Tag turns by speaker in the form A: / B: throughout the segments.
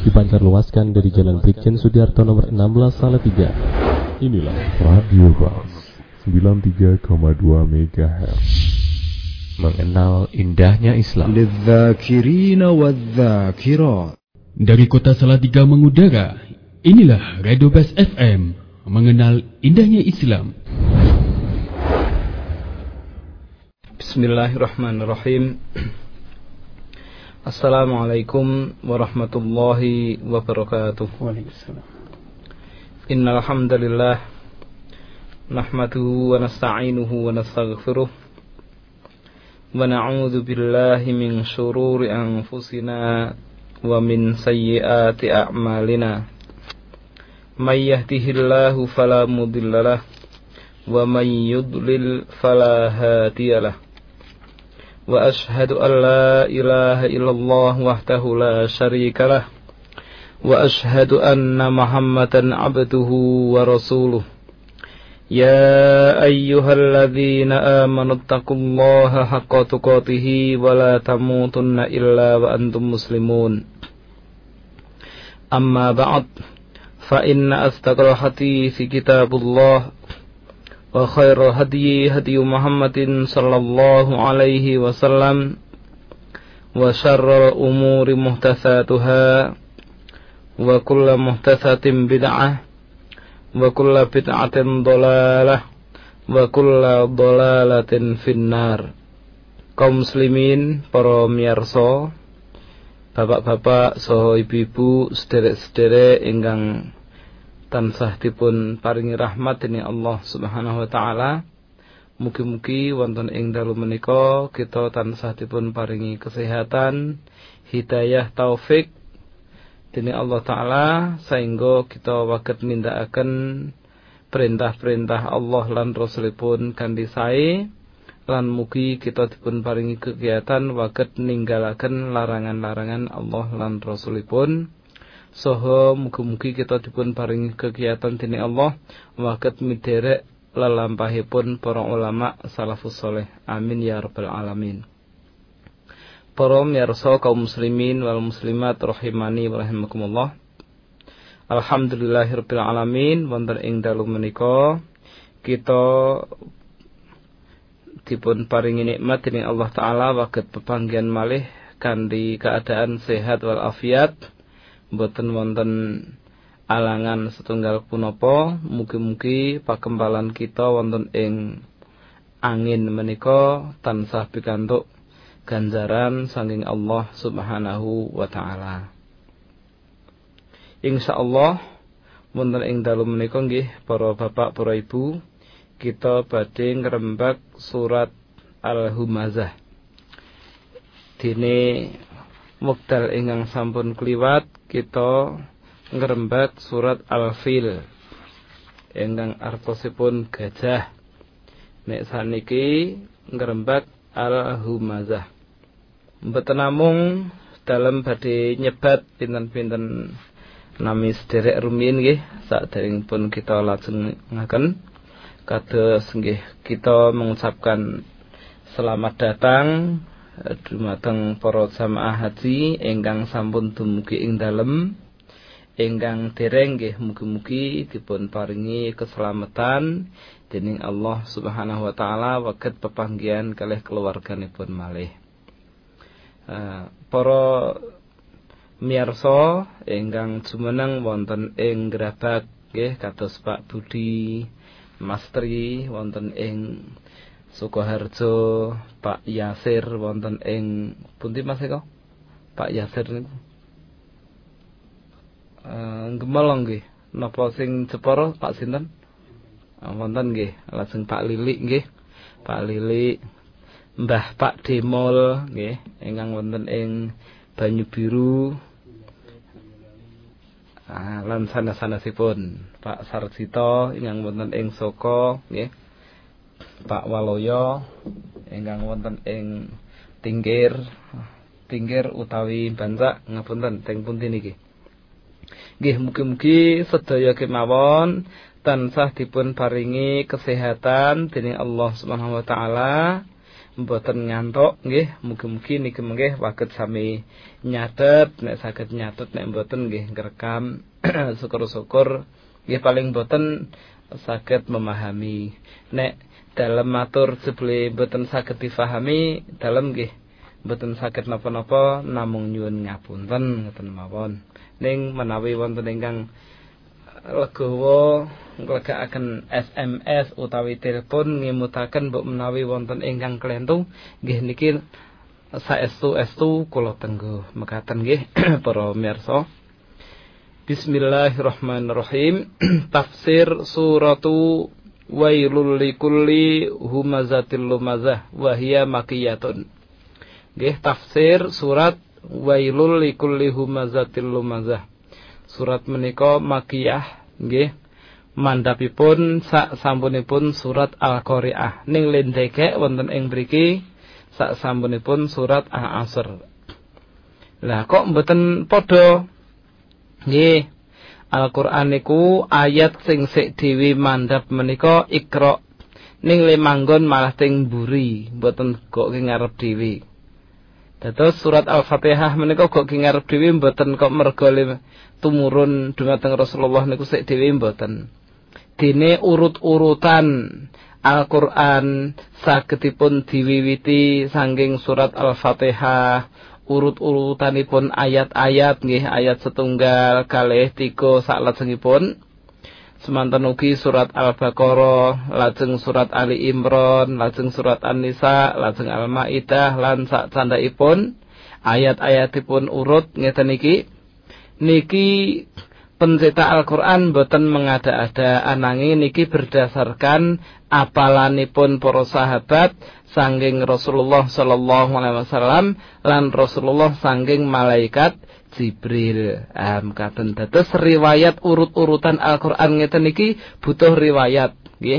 A: dipancarluaskan dari Jalan Brigjen Sudiarto nomor 16 Salatiga. Inilah Radio Bas 93,2 MHz. Mengenal indahnya Islam.
B: Dari kota Salatiga mengudara, inilah Radio Bas FM, mengenal indahnya Islam.
C: Bismillahirrahmanirrahim. Assalamualaikum warahmatullahi wabarakatuh.
D: Waalaikumsalam.
C: Innal hamdalillah nahmaduhu wa nasta'inuhu wa nastaghfiruh wa na'udzu billahi min shururi anfusina wa min sayyiati a'malina. May yahdihillahu fala mudhillalah wa may yudlil fala hadiyalah. Wa ashhadu an la ilaha illallah wahdahu la syarika lah wa ashhadu anna Muhammadan abduhu wa rasuluh. Ya ayyuhalladzina amanu taqullaha haqqa tuqatih wa la tamutunna illa wa antum muslimun. Amma ba'd, fa inna asdaqal hadithi kitabullah wa khairal hadyi hadyu Muhammadin sallallahu alaihi wasallam wa syarral umuri muhdatsatuha wa kullu muhdatsatin bid'ah wa kullu bid'atin dhalalah wa kullu dhalalatin finnar. Kaum muslimin, para miyarsa, bapak-bapak saha ibu-ibu, sederek-sederek ingkang tansah dipun paringi rahmat dening Allah Subhanahu wa taala. Mugi-mugi wonten ing dalu menika kita tansah dipun paringi kesehatan, hidayah, taufik dening Allah taala sehingga kita saged nindakaken perintah-perintah Allah lan Rasulipun kanthi sae, lan mugi kita dipun paringi kegiatan saged ninggalaken larangan-larangan Allah lan Rasulipun. Soho mugi-mugi kita dipun paringi kegiatan dening Allah saged miderek lelampahipun para ulama salafus saleh. Amin ya rabbal alamin. Para miyarsa kaum muslimin wal muslimat rahimani wa rahimakumullah. Alhamdulillahirabbil alamin, wonten ing dalu menika kita dipun paringi nikmat dening Allah taala saged pepanggihan malih kanthi keadaan sehat wal afiat. Mboten wonten alangan setunggal punapa. Mugi-mugi pakempalan kita wonten ing angin menika tansah pikantuk ganjaran saking Allah Subhanahu wa taala. Insyaallah wonten ing dalu menika nggih para bapak para ibu, kita badhe ngrembak surat Al-Humazah. Dene wekdal ingkang sampun kliwat kita ngrembak surat Al-Fil ingkang artosipun gajah. Nek saniki ngrembak Al-Humazah. Mboten namung dalem badhe nyebat pinten-pinten nami sederek rumiyin nggih saderengipun kita lajengaken kados nggih kita mengucapkan selamat datang dumateng para jamaah haji ingkang sampun dumugi ing dalem, ingkang dereng nggih mugi-mugi dipun paringi keselamatan dening Allah Subhanahu wa taala saged pepanggihan kalih keluarganipun malih. Para miyarsa ingkang jumeneng wonten ing Grabag nggih kados Pak Budi, Mas Tri wonten ing Sukoharjo, Pak Yasir wonten ing pundi Mas eko? Pak Yasir niku. Gemelong nggih. Napa sing Jepara Pak sinten? Wonten nggih, lajeng Pak Lili nggih. Pak Lili, Mbah Pak Demol nggih, ingkang wonten ing Banyu Biru. Lan sanes-sanesipun Pak Sarjito ingkang wonten ing Soko nggih. Pak Waloyo ingkang wonten ing Tingkir utawi Bancak, ngapunten teng pundi niki. Nggih mugi-mugi sedaya kemawon tansah dipun paringi kesehatan dening Allah Subhanahu wa taala mboten ngantuk nggih, mugi-mugi niki mengke waget sami nyatet, nek saged nyatet, nek mboten nggih ngrekam. Syukur-syukur nggih paling mboten saged memahami. Nek dalem matur jebule mboten saged difahami, dalem nggih mboten saged napa-napa, namung nyuwun ngapunten ngoten mawon. Ning menawi wonten ingkang legowo nglegakaken SMS utawi telepon ngimutaken mbok menawi wonten ingkang klentu nggih niki saestu-estu kula tenggo mekaten nggih para mirsa. Bismillahirrahmanirrahim. Tafsir suratu Wailul likulli humazatil lumazah wa hiya makkiyatun. Nggih tafsir surat Wailul likulli humazatil lumazah. Surat menika makkiyah nggih. Mandhapipun sak sampunipun surat Al-Qari'ah. Ning lendheke wonten ing mriki sak sampunipun surat Al-Asr. Lah kok mboten padha? Nggih. Al-Qur'an niku ayat sing sik dhewe mandhap menika Iqra. Ning le manggon malah teng mburi, mboten kok ngarep dhewe. Dados surat Al-Fatihah menika kok ngarep dhewe mboten kok merga tumurun dumateng Rasulullah niku sik dhewe mboten. Dene urut-urutan Al-Qur'an sagedipun diwiwiti saking surat Al-Fatihah, urut-urutanipun ayat-ayat nggih, ayat 1, 2, 3 salajengipun. Semanten ugi surat Al-Baqarah, lajeng surat Ali Imran, lajeng surat An-Nisa, lajeng Al-Maidah lan sak candhaipun ayat-ayatipun urut ngeten iki. Niki pencetak Al-Qur'an boten mengada-ada, ananging niki berdasarkan apalanipun para sahabat saking Rasulullah sallallahu alaihi wasallam lan Rasulullah saking malaikat Jibril. Mekaten dados riwayat urut-urutan Al-Qur'an ngeten iki butuh riwayat nggih.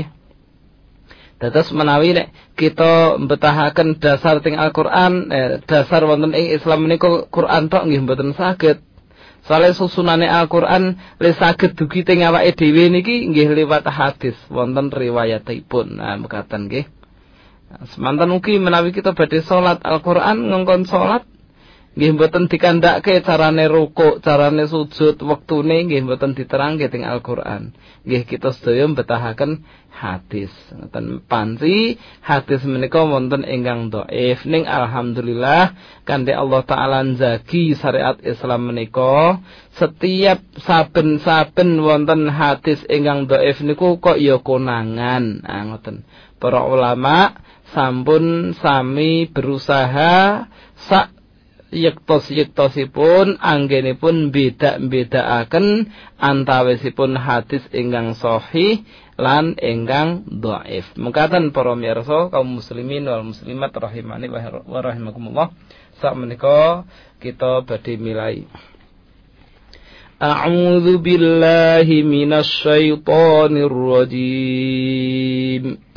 C: Dados menawi nek kita mbetahaken dasar teng Al-Qur'an, dasar wonten ing Islam menika Qur'an tok nggih mboten saged. Soale susunane Al-Qur'an le saged dugi teng awake dhewe niki nggih liwat hadis wonten riwayatipun. Mekaten nggih. Semanten ugi menawi kita badhe salat Al-Qur'an ngongkon salat nggih mboten dikandhake carane rukuk, carane sujud, wektune nggih mboten diterangke teng Al-Qur'an. Nggih kita sedaya mbetahaken hadis. Ngoten panci hadis menika wonten ingkang dhaif, ning alhamdulillah kanthi Allah taala njagi syariat Islam menika setiap saben-saben wonten hadis ingkang dhaif niku kok ya konangan. Ngoten. Para ulama sampun sami berusaha sak yektos-yektosipun anggenipun beda-bedaaken antawisipun hadis ingkang sahih lan ingkang dhaif. Mekaten para mirsa kaum muslimin wal muslimat rahimani wa rahimakumullah. Sakmenika kita badhe milai. A'udzu billahi minasy syaithanir rajim.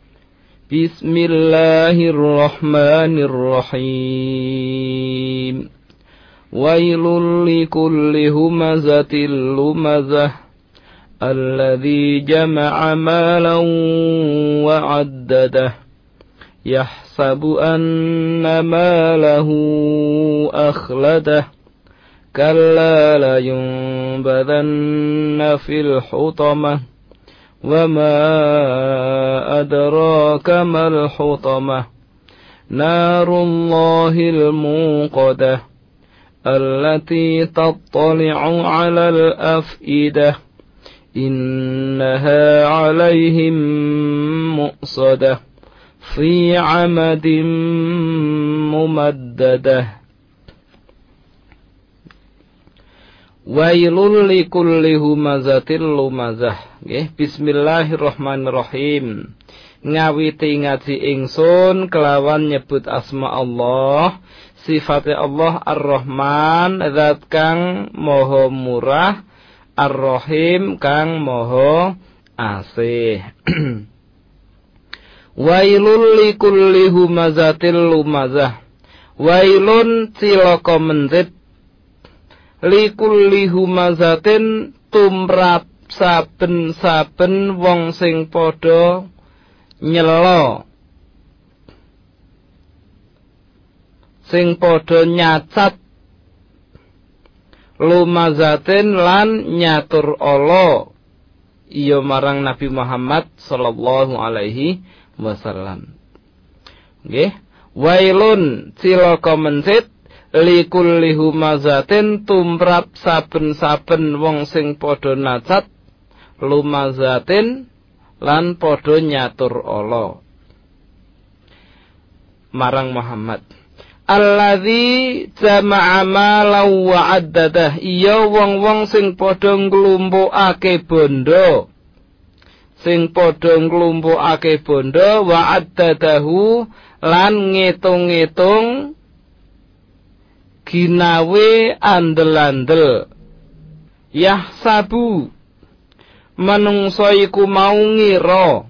C: Bismillahirrahmanirrahim. Wailul likulli humazatil lumazah alladzi jama'a malan wa 'addadah yahsabu anna malahu akhladah kalla la yunbadanna fil hutamah وما أدراك ما الحطمة نار الله الموقدة التي تطلع على الأفئدة إنها عليهم مؤصدة في عمد ممددة Wailul likulli humazatil lumazah. Nggih, bismillahirrahmanirrahim. Ngawiti ngaji ingsun kelawan nyebut asma Allah, sifat Allah Ar-Rahman, zat kang maha murah, Ar-Rahim kang maha asih. Wailul likulli humazatil lumazah. Wailun cilaka mendhet likulli humazatin tumrap saben-saben wong sing padha nyela sing padha nyacat lumazatin lan nyatur ala iya marang Nabi Muhammad sallallahu alaihi wasallam. Nggih, wailun cilaka mencit likulli humazatin tumrap saben-saben wong sing padha nacat lumazatin lan padha nyatur ala marang Muhammad. Alladzi jama'a malan wa addadah, iya wong-wong sing padha nglumpukake bondo, sing padha nglumpukake bondo wa addadahu lan ngitung-ngitung ginawe andel-andel. Yahsabu manungsa iku mau ngira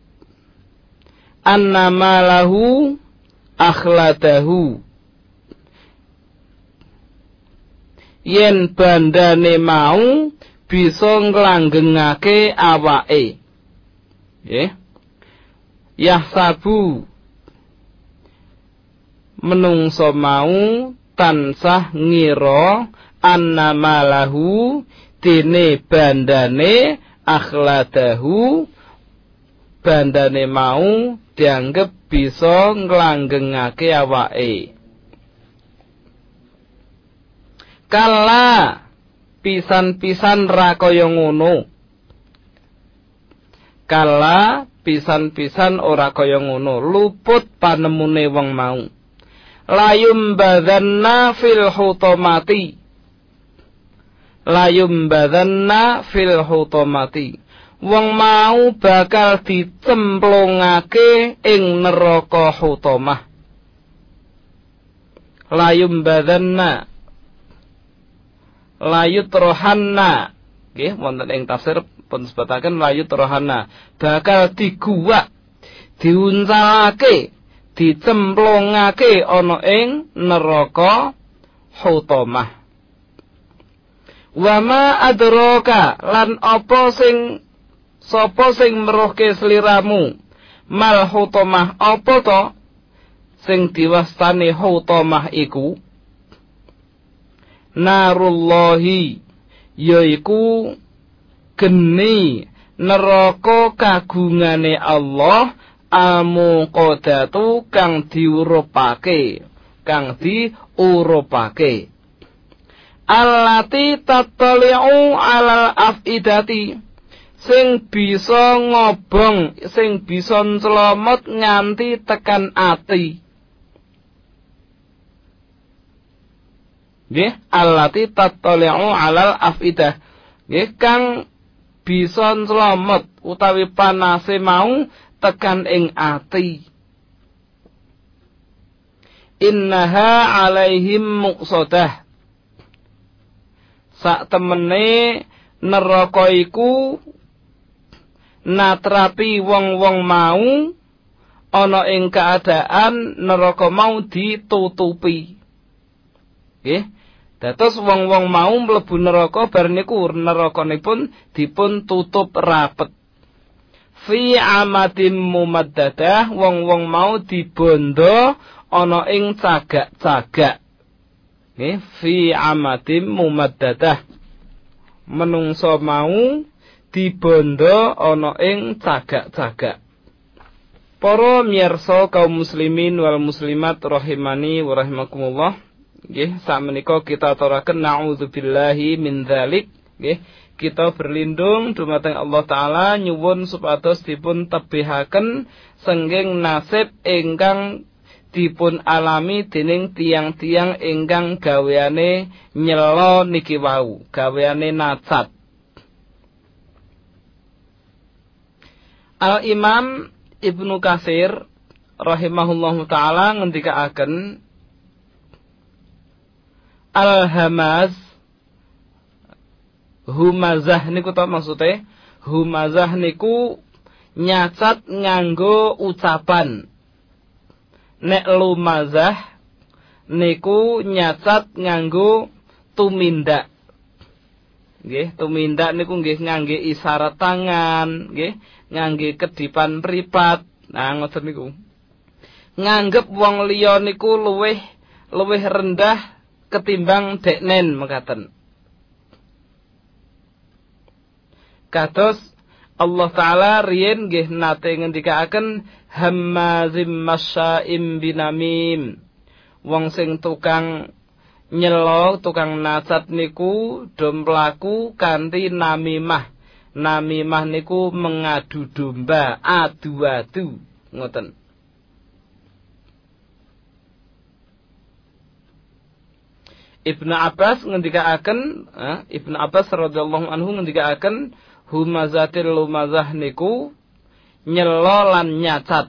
C: annama lahu akhladahu, yen bandane mau bisa nglanggengake awake. Nggih. Yahsabu menungso mau tansah ngira annama lahu dene bandane akhladahu, bandane mau dianggep bisa nglanggengake awake. Kala pisan-pisan ra kaya ngono. Kala pisan-pisan ora kaya ngono, luput panemune wong mau. Layum badanna fil hutamati. Layum badanna fil hutamati. Wong mau bakal dicemplungake ing neraka hutamah. Layum badanna layut rohanna, nggih wonten ing tafsir pun sebataken layut rohanna, bakal diguwak, diuncalake, dicemplungake ana ing neraka hutamah. Wa ma adraka lan apa sing sapa sing meruhke sliramu mal hutamah, apa to sing diwastani hutamah iku? Narullahi, yaiku geni neraka kagungane Allah, al-muqaddatu kang diurupake, kang diurupake. Allati tattali'u 'alal afidati, sing bisa ngobong, sing bisa nclomot nganti tekan ati. Nggih, allati tattali'u 'alal afidah. Nggih, kang bisa nclomot utawi panase mau tekan ing ati. Innaha 'alaihim muqsadah. Sak temene neraka iku natrapi wong-wong mau ana ing keadaan neraka mau ditutupi. Nggih. Dados wong-wong mau mlebu neraka bar niku nerakanipun dipun tutup rapet. Fi amadim mumaddadah, wong-wong mau dibondo ana ing cagak-cagak. Nggih, fi amadim mumaddadah. Menungso mau dibondo ana ing cagak-cagak. Para miyarsa kaum muslimin wal muslimat rahimani wa rahimakumullah. Nggih, sakmenika kita aturaken naudzubillahi min dzalik. Nggih, kita berlindung dumateng Allah taala nyuwun supados dipun tebihaken sengging nasib ingkang dipun alami dening tiang-tiang ingkang gaweane nyela niki wau, gaweane nacat. Al-Imam Ibnu Katsir rahimahullahu taala ngendikaaken al-hamaz, humazah niku to maksude. Humazah niku nyacat nganggo ucapan. Nek lumazah niku nyacat nganggo tumindak. Nggih, tumindak niku nggih ngangge isyarat tangan, nggih, ngangge kedipan mripat. Nah, ngoten niku. Nganggep wong liya niku luwih luwih rendah ketimbang deknen mekaten. Kados Allah Ta'ala riyen nggih nate ngendikaaken hammazim masya'im binamim. Wong sing tukang nyelo, tukang nacat niku do mlaku kanthi namimah. Namimah niku mengadu domba, adu-adu, ngoten. Ibnu Abbas ngendikaaken, Ibnu Abbas radhiyallahu anhu ngendikaaken humazatil lumazah niku nyelo lan nyacat.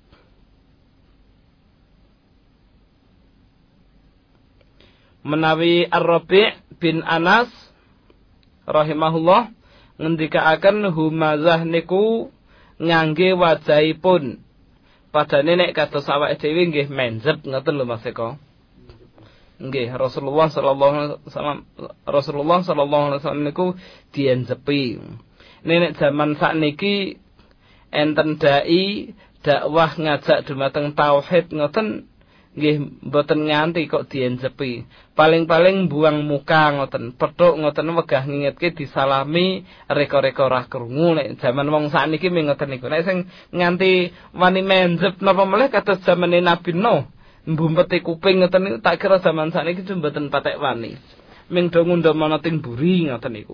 C: Menawi Ar-Rabi' bin Anas rahimahullah ngendikaaken humazah niku ngangge wajahipun. Padane nek kados awake dhewe nggih menjep ngoten lho Mas Eko. Nggih, Rasulullah sallallahu alaihi wasallam niku dienjepi. Nek zaman sakniki enten dai dakwah ngajak dumateng tauhid ngoten nggih mboten nganti kok dienjepi. Paling-paling buang muka ngoten, pethuk ngoten wegah ngingetke disalami reka-reka ora krungu. Nek zaman wong sakniki ngoten niku. Nek sing nganti wani menjep napa meneh kados zamane Nabi Nuh. Mbumpeti kuping ngoten niku tak kira zaman sakniki mboten patek wani. Ming do ngundhamana ting buri ngoten niku.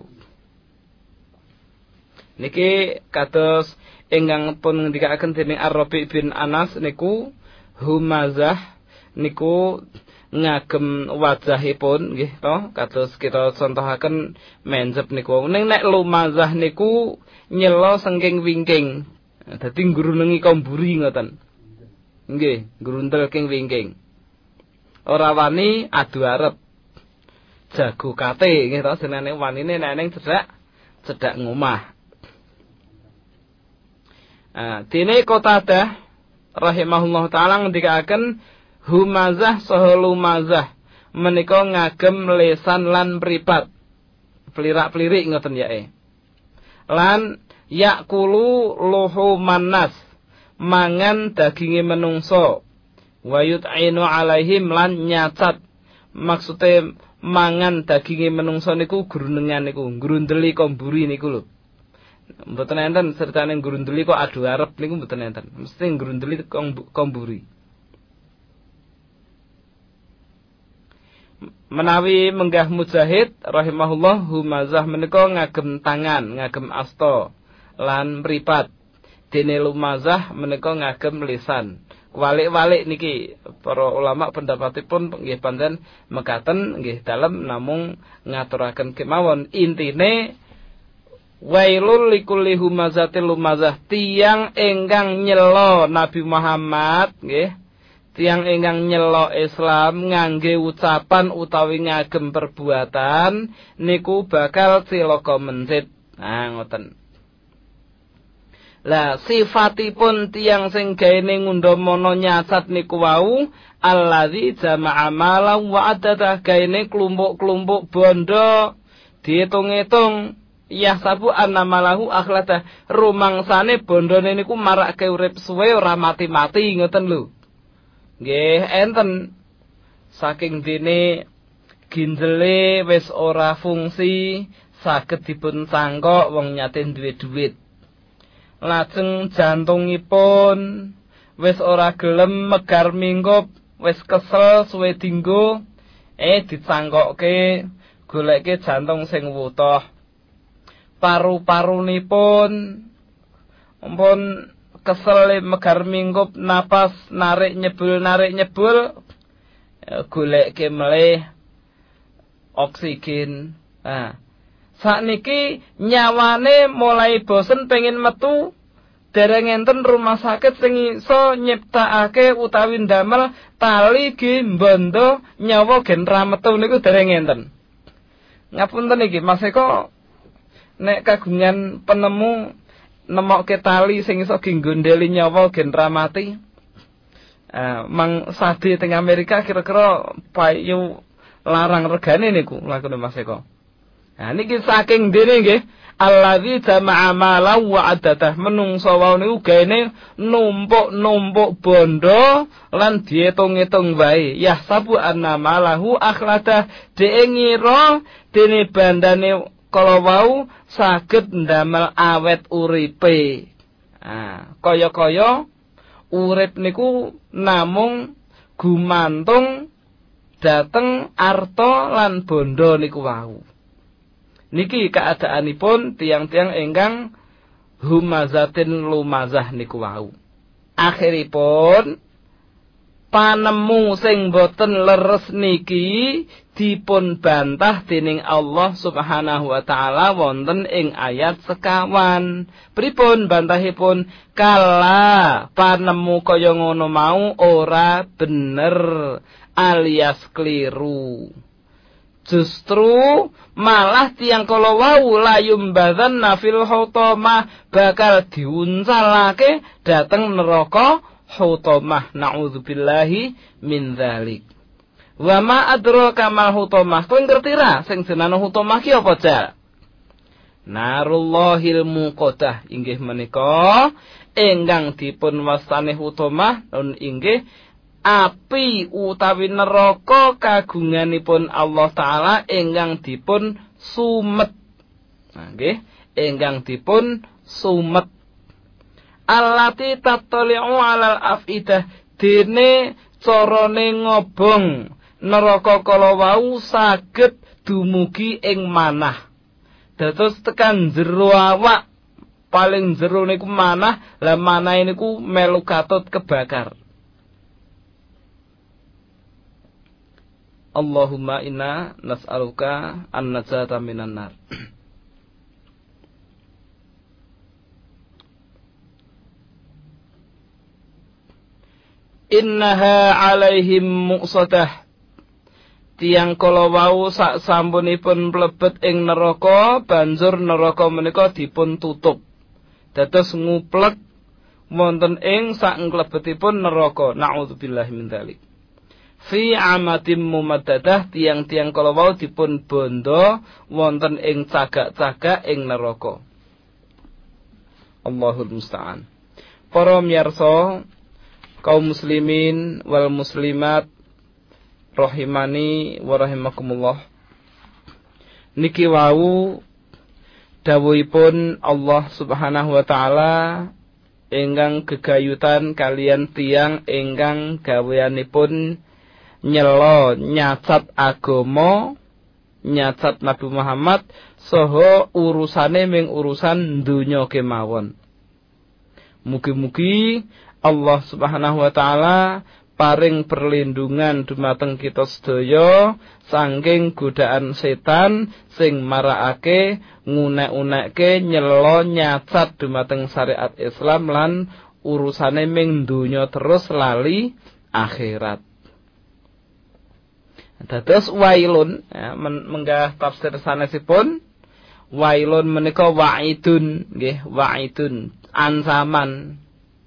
C: Niki kados ingkang pun ngendikaaken dening Ar-Rabi' bin Anas niku humazah niku ngagem wajahipun nggih to kados kita contohaken menjep niku. Ning nek lumazah niku nyelo sengking wingking. Dadi ngrunengi komburi ngoten. Nggih, grundel king wingking. Ora wani adu arep. Jago kate nggih to jenenge wanine nek ning cedhak ngomah. Dene Qatadah rahimahullah taala ngendikaaken humazah saha lumazah menika ngagem lesan lan mripat. Plirak-plirik ngoten yae. Lan yakulu luhuman nas mangan daginge menungso wayut ainu alaihim lan nyacat maksude mangan daginge menungso niku grunengan niku grundeli komburi niku lho mboten enten sertane grundeli kok adu arep niku mboten enten mesti grundeli komburi. Menawi menggah Mujahid rahimahullah humazah menika ngagem tangan ngagem asta lan mripat. Dene lumazah menika ngagem lisan. Walik-walik niki para ulama pendapatipun nggih pancen mekaten nggih dalem namung ngaturaken kemawon intine wailul likulli humazatil lumazah tiyang ingkang nyela Nabi Muhammad nggih tiyang ingkang nyela Islam ngangge ucapan utawi ngagem perbuatan niku bakal cilaka mencit. Ngoten. Lah sifatipun tiyang sing gaene ngundhamana nyacat niku wau allazi jama'a malan wa adada gaene klumpuk-klumpuk bondo diitung-itung yahsabu annamalahu akhlata rumangsane bondone niku marake urip suwe ora mati-mati ngoten lho. Nggih enten saking dene ginjele wis ora fungsi saged dipun sangkok wong nyate duwe dhuwit. Lajeng jantungipun wis ora gelem megar mingkup, wis kesel suwe dinggo, dicangkokke goleke jantung sing wutoh. Paru-parunipun ampun kesel megar mingkup, napas narik nyebul, goleke melih oksigen. Sakniki nyawane mulai bosen pengen metu dereng enten rumah sakit sing iso nyiptakake utawi ndamel tali gimbondo nyawa gen ra metu niku dereng enten. Ngapunten iki Mas Eko nek kagungan penemu nemokke tali sing iso ginggondeli nyawa gen ra mati. Mang sadi teng Amerika kira-kira payu larang regane niku lakune Mas Eko. Nah niki saking dene nggih allazi jama'a malan wa addatah menungso wau niku gaene numpuk-numpuk bondo lan diitung-itung wae yahsabu anna malahu akhladah dhek ngira dene bandane kala wau saged ndamel awet uripe. Nah kaya-kaya urip niku namung gumantung dateng arta lan bondo niku wau. Niki keadaanipun tiang-tiang ingkang humazatin lumazah niku wau. Akhiripun panemu sing boten leres niki dipun bantah dening Allah Subhanahu wa taala wonten ing ayat sekawan. Pripun bantahipun? Kala panemu kaya ngono mau ora bener alias keliru. Justru malah tiang kala wau layum badan nafil hutamah bakal diuncalake dateng neraka hutamah. Nauzubillahi min dzalik. Wa ma adraka mal hutamah. Kowe ngerti ra sing jenenge hutamah ki apa, Jal? Narullahil muqaddah inggih menika ingkang dipun wastani hutamah nun inggih api utawi neraka kagunganipun Allah taala ingkang dipun sumet. Nggih, ingkang dipun sumet. Allati tattali'u 'alal afidah dene carane ngobong neraka kala wau saged dumugi ing manah. Dados tekan jero awak paling jero niku manah, lah manah niku melu katut kebakar. Allahumma inna nas'aluka an-najata minan nar. Innaha alaihim muqsadah. Tiang kala wau sak sampunipun mlebet ing neraka, banjur neraka menika dipun tutup. Dados nguplek wonten ing sak nglebetipun neraka. Nauzubillahi min dzalik. Fi amatim mumaddadah tiang-tiang kala wau dipun bondo wonten ing cagak-cagak ing neraka. Allahul musta'an. Para miyarsa kaum muslimin wal muslimat rahimani wa rahimakumullah. Niki wau dawuhipun Allah Subhanahu wa taala ingkang gegayutan kalian tiang ingkang gaweanipun nyelo nyacat agama, nyacat Nabi Muhammad saha urusane ming urusan donya kemawon. Mugi-mugi Allah Subhanahu wa taala paring perlindungan dumateng kita sedaya saking godaan setan sing marakake ngunek-unekke nyelo nyacat dumateng syariat Islam lan urusane ming donya terus lali akhirat. Dados wailun ya, menggah tafsir sanesipun wailun menika wa'idun nggih, wa'idun ancaman.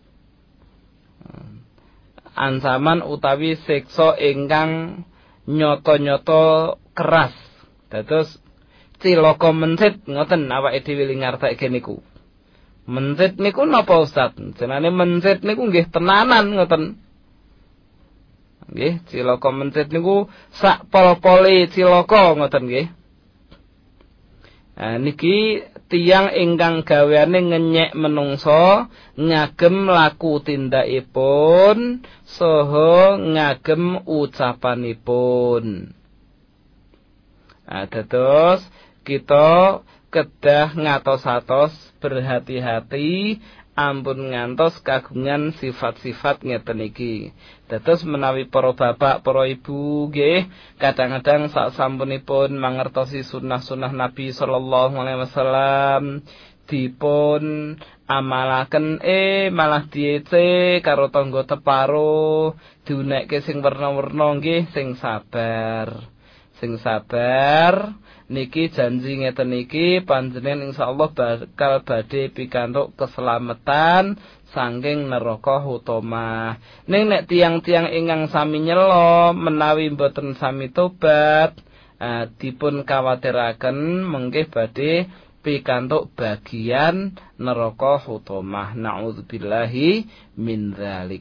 C: Ancaman utawi siksa ingkang nyata-nyata keras. Dados cilaka mencit ngoten awake dhewe ngarteke niku. Mencit niku napa Ustaz? Jenenge mencit niku nggih tenanan ngoten. Nggih, cilaka mencit niku sak pol-pole cilaka ngoten nggih. Nah niki tiyang ingkang gaweane ngenyek menungso ngagem laku tindakipun saha ngagem ucapanipun. Nah dados kita kedah ngatos-atos berhati-hati ampun ngantos kagungan sifat-sifat ngeten iki. Dados menawi para bapak, para ibu nggih, kadang-kadang sak sampunipun mangertosi sunah-sunah Nabi sallallahu alaihi wasallam dipun amalaken malah diece karo tangga teparo, diunekke sing werna-werna nggih, sing sabar. Sing sabar niki janji ngeten iki panjenengan insyaallah bakal badhe pikantuk keselamatan saking neraka hutamah. Ning nek tiang-tiang ingkang sami nyelo menawi mboten sami tobat dipun kawatiraken mengke badhe pikantuk bagian neraka hutamah. Nauzubillahi min dzalik.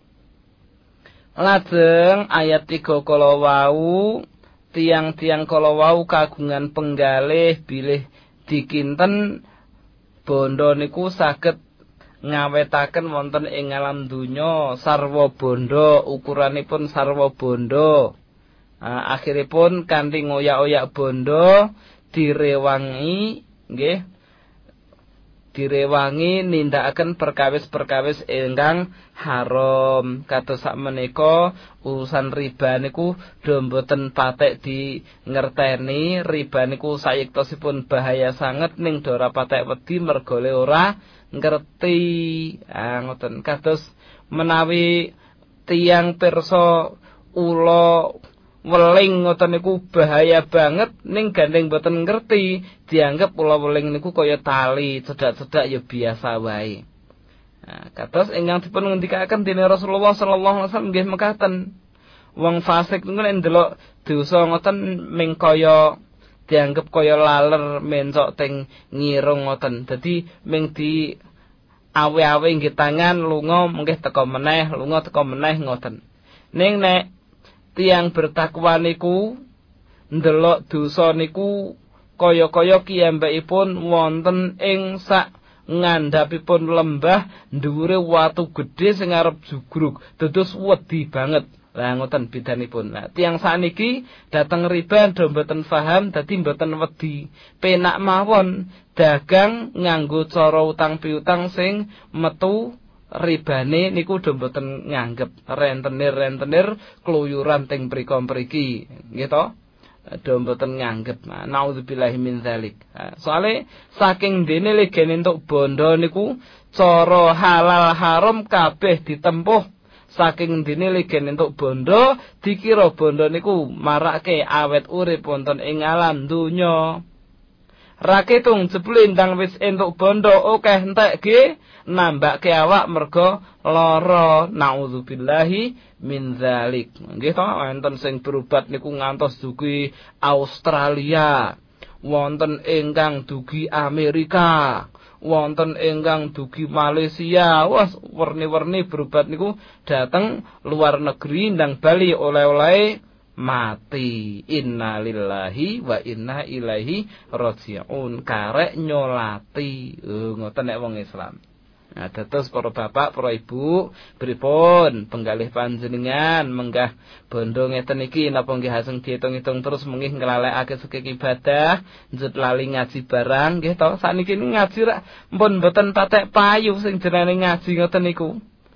C: Lajeng ayat 3 kala wau tiang-tiang kala wau kagungan penggalih bilih dikinten bondo niku saged ngawetaken wonten ing alam donya sarwa bondo, ukuranipun sarwa bondo. Akhiripun kanthi ngoyak-oyak bondo direwangi nggih, direwangi nindakaken perkawis-perkawis ingkang haram. Kados sakmenika urusan riba niku do mboten patek di ngerteni. Riba niku sayektosipun bahaya sanget ning do ora patek wedi merga ora ngerti. Ngoten kados menawi tiyang pirsa ula weling ngoten niku bahaya banget ning gandeng boten ngerti, dianggap ula weling niku kaya tali, cedak-cedak ya biasa wae. Kados ingkang dipun ngendikaken dening Rasulullah sallallahu alaihi wasallam nggih mekaten. Wong fasik niku nek ndelok dosa ngoten ming kaya dianggap kaya laler mencok teng ngirung ngoten. Dadi ming di awe-awe nggih tangan lunga mengke teka meneh, lunga teka meneh ngoten. Ning nek tiyang bertakwa niku ndelok dosa niku kaya-kaya kiyambakipun wonten ing sak ngandhapipun lembah dhuwure watu gedhe sing arep jugruk, dados wedi banget. Lah ngoten bedanipun. Nah, tiyang saniki dateng riba do mboten paham dadi mboten wedi. Penak mawon dagang nganggo cara utang piutang sing metu ribane niku do mboten nganggep rentenir kluyuran teng mriko-mriki nggih to, do mboten nganggep. Nauzubillahi min dzalik. Soale saking dene legene entuk bondo niku cara halal haram kabeh ditempuh. Saking dene legene entuk bondo dikira bondo niku marake awet urip wonten ing alam donya. Raketung jebule ndang wis entuk bondo akeh entekke nambake awak merga lara. Nauzubillahi min dzalik. Nggih to, wonten sing berobat niku ngantos dugi Australia, wonten ingkang dugi Amerika, wonten ingkang dugi Malaysia. Wah, werni-werni berobat niku dateng luar negeri ndang bali oleh-oleh mati. Innalillahi wa inna ilaihi raji'un. Karek nyolati. Ngoten nek wong Islam. Nah, dados para bapak, para ibu, pripun penggalih panjenengan menggah bondo ngeten iki napa nggih aseng diitung-itung terus mengih nglalekake sekek ibadah, njut lali ngaji barang nggih to. Sakniki ngaji rak mpun mboten patek payu sing jenenge ngaji ngoten niku.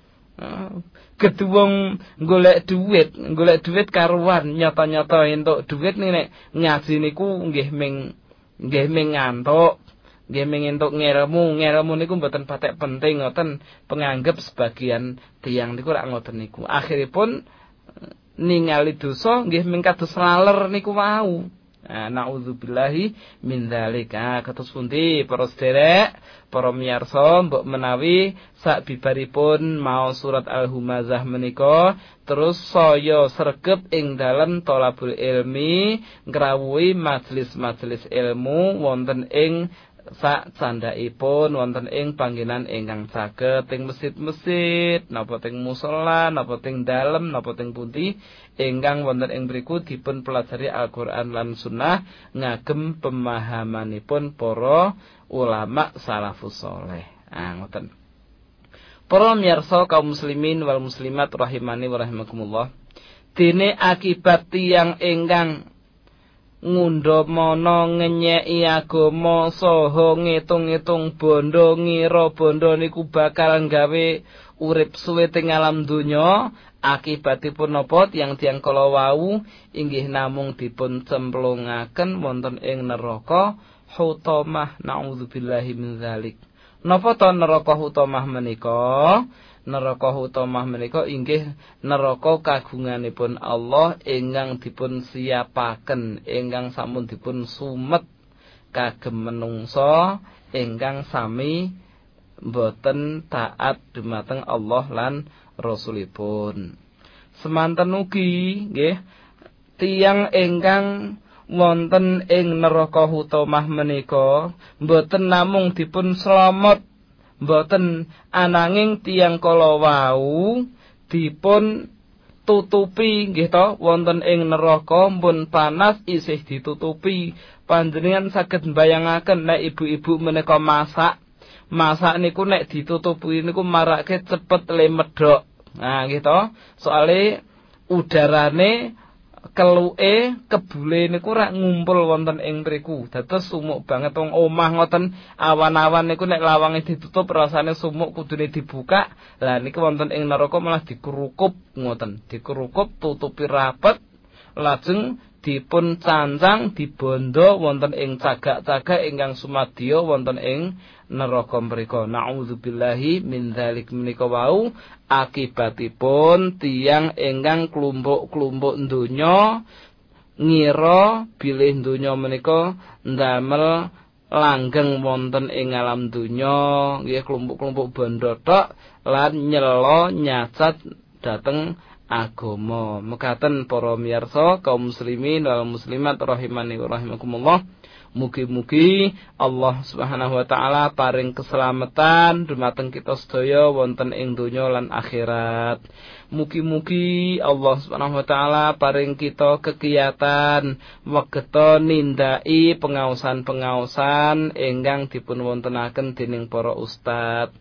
C: Keduwung golek duit karuan nyata-nyata entuk duit nek ngaji niku nggih ming ngantuk. Nggih mengentuk ngelmu niku mboten patek penting ngoten, penganggep sebagian tiyang niku rak ngoten niku. Akhiripun ningali dosa nggih ming kados laler niku wau. Nauzubillahi min dzalik. Kados pundi para sederek, para miyarsa, mbok menawi sak bibaripun maos surat Al-Humazah menika terus saya sregep ing dalem thalabul ilmi ngrawuhi majelis-majelis ilmu wonten ing sak candhaipun wonten ing panggenan ingkang saged ing masjid-masjid napa teng musala napa teng dalem napa teng pundi ingkang wonten ing mriku dipun pelajari Al-Qur'an lan Sunnah ngagem pemahamanipun para ulama salafus saleh. Ngoten. Para miyarsa kaum muslimin wal muslimat rahimani wa rahimakumullah. Dene akibat tiyang ingkang ngundha mana ngenyeki agama saha ngitung-itung bondo ngira bondo niku bakal gawe urip suwe teng alam donya, akibatipun napa tiyang-tiyang kala wau inggih namung dipun cemplungaken wonten ing neraka hutamah. Nauzubillahi min dzalik. Napa to neraka hutamah menika? Neraka hutamah menika inggih neraka kagunganipun Allah ingkang dipun siapaken, ingkang sampun dipun sumet kagem menungsa ingkang sami boten taat dumateng Allah lan Rasulipun. Semanten ugi nggih tiyang ingkang wonten ing neraka hutamah menika mboten namung dipun slamet, mboten ananging tiyang kala wau dipun tutupi nggih to wonten ing neraka pun panas isih ditutupi. Panjenengan saged mbayangaken nek ibu-ibu menika masak niku nek ditutupi niku marake cepet lemedhok. Nah nggih to, soale udarane keluke kebule niku rak ngumpul wonten ing mriku. Dados sumuk banget wong omah ngoten awan-awan niku nek lawange ditutup rasane sumuk kudune dibuka. Lah niku wonten ing neraka malah dikerukup ngoten. Dikerukup tutupi rapet lajeng dipun cancang dibondo wonten ing cagak-cagak ingkang sumadya wonten ing neraka mriku. Nauzubillahi min dzalik menika wau akibatipun tiyang ingkang klumpuk-klumpuk donya ngira bilih donya menika ndamel langgeng wonten ing alam donya nggih klumpuk-klumpuk bondo tok lan nyela nyacat dhateng agama. Mekaten para miyarsa kaum muslimin wal muslimat rahimani wa rahimakumullah. Mugi-mugi Allah Subhanahu wa taala paring keselamatan dumateng kita sedaya wonten ing donya lan akhirat. Mugi-mugi Allah Subhanahu wa taala paring kita kegiatan wegeta nindai pengaosan-pengaosan ingkang dipun wontenaken dening para ustad.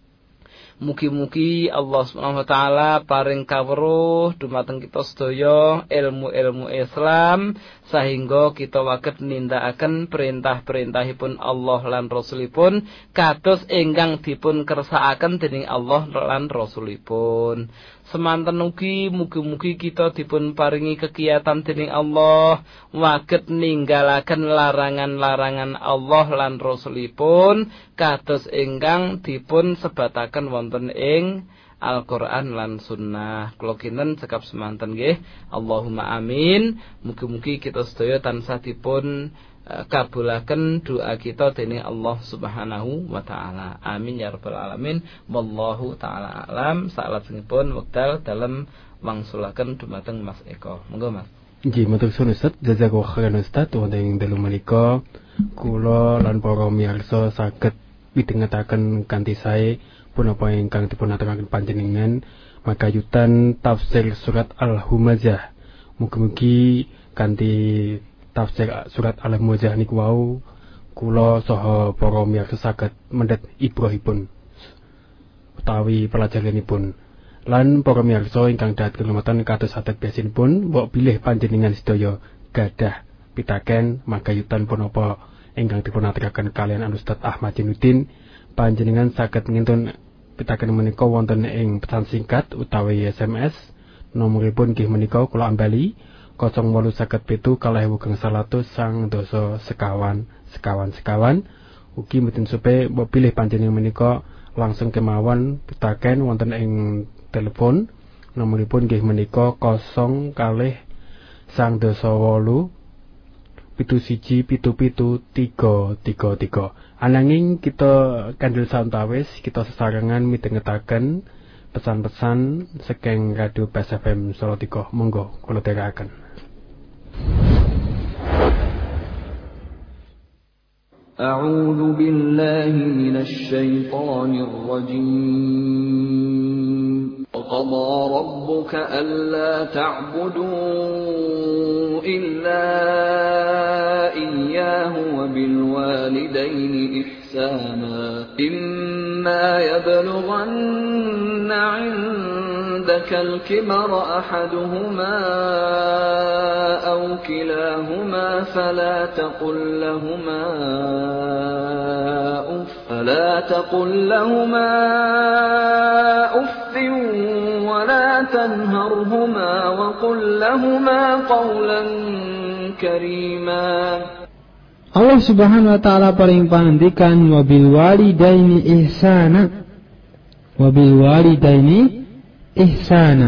C: Mugi-mugi Allah Subhanahu wa taala paring kawruh dumateng kita sedaya ilmu-ilmu Islam sehingga kita waget nindakaken perintah-perintahipun Allah lan Rasulipun kados ingkang dipun kersakaken dening Allah lan Rasulipun. Semanten ugi mugi-mugi kita dipun paringi kegiatan dening Allah waget ninggalaken larangan-larangan Allah lan Rasulipun kados ingkang dipun sebataken wonten ing Al-Qur'an lan Sunnah. Kula kinten cekap semanten nggih. Allahumma amin. Mugi-mugi kita sedaya tansah dipun kabulaken doa kita dening Allah Subhanahu wa taala. Amin ya rabbal alamin. Wallahu taala alam. Salajengipun wekdal dalem wangsulaken dumateng Mas Eko. Monggo Mas.
D: Nggih, matur suwun Ustaz. Jazakallahu khairan Ustaz. Wonten ing dalu menika kula lan para miyarsa saged midhangetaken kanthi sae punapa ingkang dipun aturaken panjenengan makayutan tafsir surat Al-Humazah. Mugi-mugi kanthi tafsir surat Al-Humazah niku wau kula saha para miyarsa saged mendhet ibrahipun utawi pelajaranipun. Lan para miyarsa ingkang dahat kehormatan kados saged biasinipun mbok bilih panjenengan sedaya gadah pitaken makayutan punapa ingkang dipun aturaken kalian Ustaz Ahmad Jainuddin. Panjenengan saged ngintun pitaken menika wonten ing pesan singkat utawi SMS. Nomoripun nggih menika kula ambali 0857 sekawan. Ugi mboten supe mbok pilih panjenengan menika langsung kemawon pitaken wonten ing telepon. Nomoripun nggih menika 0 717773333. Ananging kita kandel santawis kita sesarengan midhangetaken pesan-pesan saking Radio Bas FM Salatiga. Monggo kula dherekaken.
E: A'udzu billahi minasy syaithanir rajim. وَقَضَى رَبُّكَ أَلَّا تَعْبُدُوا إِلَّا إِيَّاهُ وَبِالْوَالِدَيْنِ إِحْسَانًا إِمَّا يَبْلُغَنَّ عِندَكَ الْكِبَرَ أَحَدُهُمَا أَوْ كِلَاهُمَا فَلَا تقل لهما أف ولا تنهرهما وقل لهما قولا كريما.
F: Allah Subhanahu wa taala paring pangandikan wabil walidaini ihsana.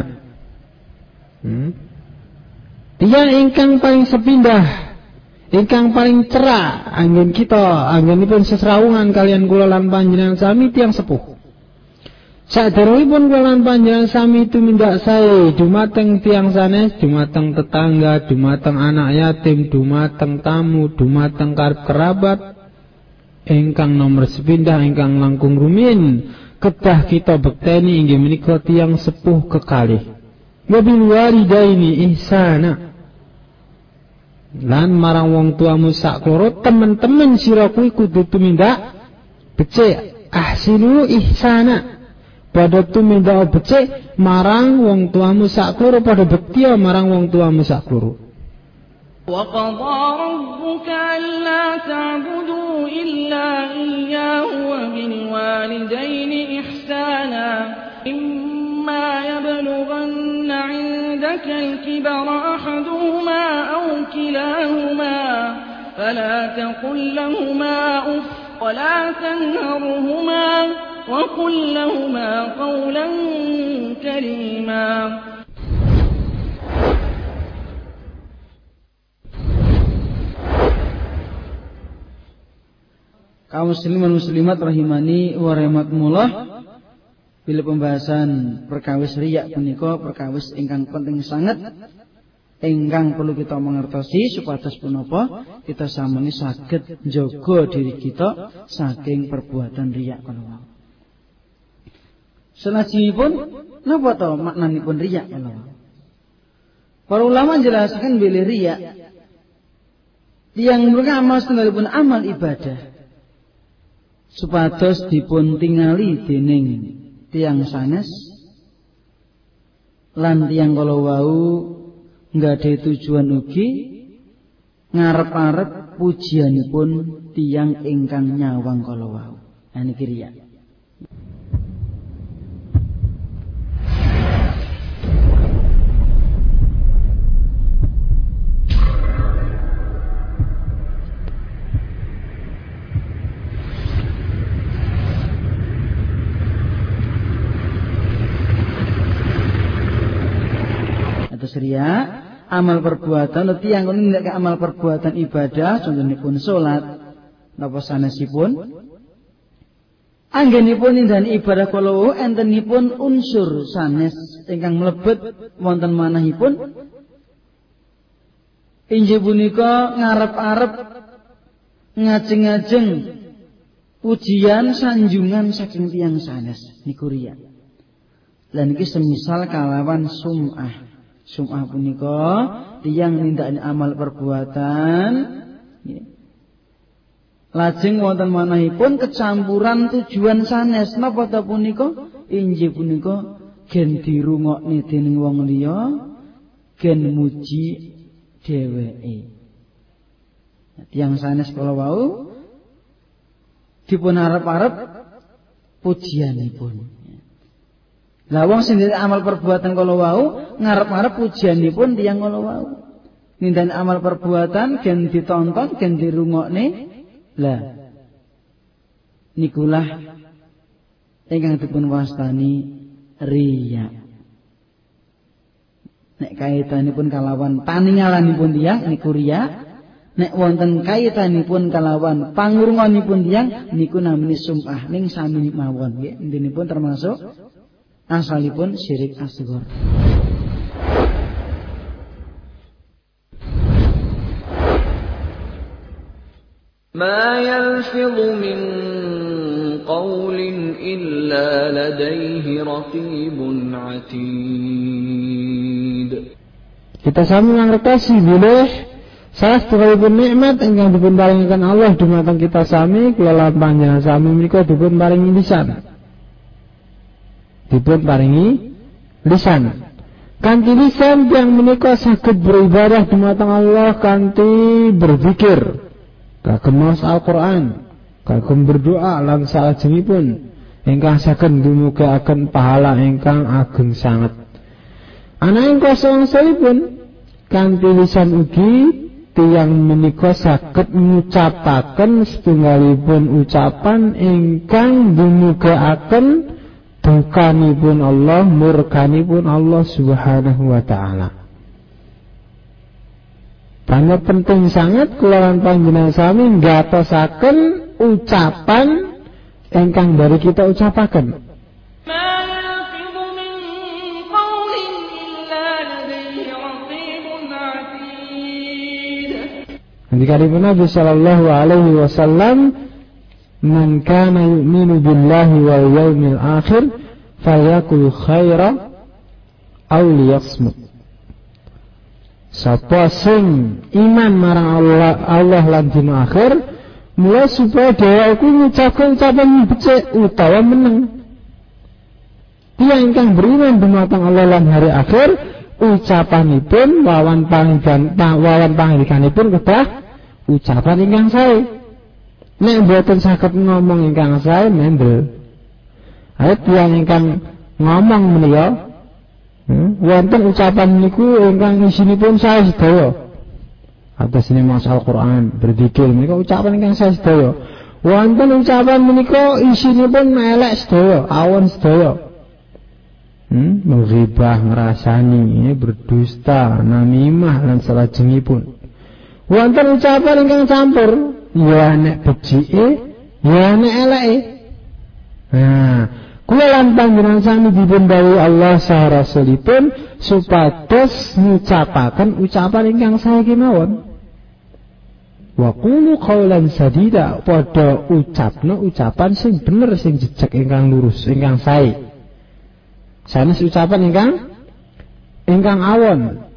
F: Tiyang ingkang paling sepindah, ingkang paling cerah anggen kita, anggenipun sesrawungan kalian kula lan panjenengan sami tiyang sepuh. Saderengipun kula panjenengan sami tumindak sae dumateng tiyang sanes, dumateng tetangga, dumateng anak yatim, dumateng tamu, dumateng karep kerabat ingkang nomor sepindah ingkang langkung rumiyin kedah kita bekteni inggih menika tiyang sepuh kekalih. Wa bil walidaini ihsana. Lan marang wong tuamu sakloro temen-temen sira kuwi kudu tumindak becik. Ahsinu ihsana. Pada tumindak becik marang wong tuamu sakloro, pada bekti marang wong tuamu sakloro.
E: Wa qadha rabbuka alla ta'budu illa iyyahu wa bil walidayni ihsana. Imma yablughanna 'indaka al-kibara ahaduhuma aw kilahuma fala taqul lahumā uff wa la tanharhumā وَقُلْ لَهُمَا قَوْلًا كَرِيمًا.
G: Kaum muslimin muslimat rahimani wa rahimakumullah. Bila pembahasan perkawis riya punika perkawis ingkang penting sangat ingkang perlu kita mengertosi supados punapa kita samuni saged njaga diri kita saking perbuatan riya kala. Selajengipun napa to maknanipun riya kala? Para ulama menjelaskan bilih riya tiyang mereka amal setunggalipun amal ibadah supados dipun tingali dening tiyang sanes lan tiyang kala wau nggadahi tujuan ugi ngarep-arep pujianipun tiyang ingkang nyawang kala wau. Niki riya. Riya amal perbuatan tiyang nindakaken amal perbuatan ibadah contohipun salat napa sanesipun anggenipun nindakani ibadah kala entenipun unsur sanes ingkang mlebet wonten manahipun inggih punika ngarep-arep ngajeng-ajeng pujian sanjungan saking tiyang sanes niku riya. Lan iki semisal kalawan sum'ah. Sum'ah punika tiyang nindakani amal perbuatan lajeng wonten manahipun kecampuran tujuan sanes napa ta punika inggih punika gen dirungokne dening wong liya gen muji dheweke. Tiyang sanes kala wau dipun arep-arep pujianipun. Lah wong sing amal perbuatan kala wau ngarep-arep pujianipun tiyang kala wau. Nindakake amal perbuatan gen ditonton, gen dirungokne. Lah nikulah ingkang dipun wastani riya. Nek kaitanipun kalawan paningalanipun tiyang niku riya. Nek wonten kaitanipun kalawan pangurunganipun tiyang niku namine sum'ah ning sami mawon nggih. Intinipun termasuk asalipun syirik asghar.
E: Ma yalfidhu min qawlin illa ladayhi raqibun atid.
F: Kita sami ngertosi bilih salah setunggalipun nikmat ingkang dipun paringaken Allah dumateng kita sami kula panjenengan sami menika dipun paringi lisan. Dipun paringi lisan. Kanthi lisan yang menika saged beribadah dumateng Allah kanthi berzikir. Kagem maos Al-Qur'an, kagem berdoa lan salajengipun ingkang saged ndumugaken pahala ingkang ageng sanget. Ananging kosongsalipun kanthi lisan ugi tiyang menika saged ngucapaken setunggalipun ucapan ingkang ndumugaken dukanipun Allah, murkanipun Allah Subhanahu wa taala. Banyak penting sangat kula lan panjenengan sami nggatosaken ucapan ingkang dari kita ucapaken. Ngendikipun Nabi sallallahu alaihi wasallam, "Man kana yu'minu billahi wal yawmil akhir falyakul khaira aw liyasmut." Sapa sing iman marang Allah lan dina akhir, mulai supaya dia iku ngucapke ucapan becik utawa meneng. Tiyang ingkang beriman dumateng Allah lan hari akhir, ucapanipun wawan pangdikanipun kedah ucapan ingkang sae. Nek mboten saged ngomong ingkang sae mendel. Ayo tiyang ingkang ngomong menika wonten ucapan niku ingkang isinipun sae sedaya. Atas ini masalah Al-Quran berzikir menika ucapan ingkang sae sedaya. Wonten ucapan menika isinipun elek sedaya, awon sedaya. Menghibah, ngrasani, berdusta, namimah lan salajengipun. Wonten ucapan ingkang campur, ya nek becike, ya nek eleke. Nah, kula lan panjenengan sami dipun dawuhi Allah saha Rasulipun supados ngucapaken ucapan ingkang sae kemawon. Wa qulu qaulan sadida, padha ucapna ucapan sing bener, sing jejeg, ingkang lurus, ingkang sae. Sanes ucapan ingkang awon.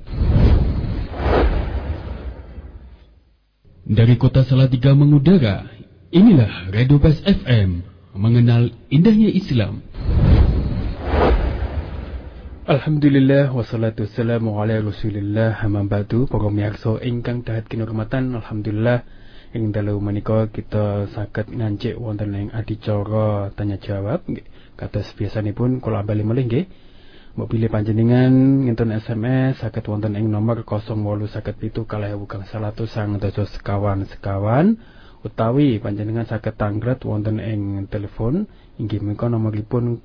B: Dari kota Salatiga mengudara, inilah Radio Bas FM, mengenal indahnya Islam.
D: Alhamdulillah wassalatu wassalamu ala Rasulillah, amma ba'du. Para miyarsa ingkang dahat kinurmatan, alhamdulillah ing dalu menika kita saged ngancik wonten ing adicara tanya jawab. Kados biasanipun kula bali malih nggih. Mbok pilih panjenengan ngentun SMS saged wonten ing nomor 0857-100-151 utawi panjenengan saged tanglet wonten ing telepon inggih menika nomoripun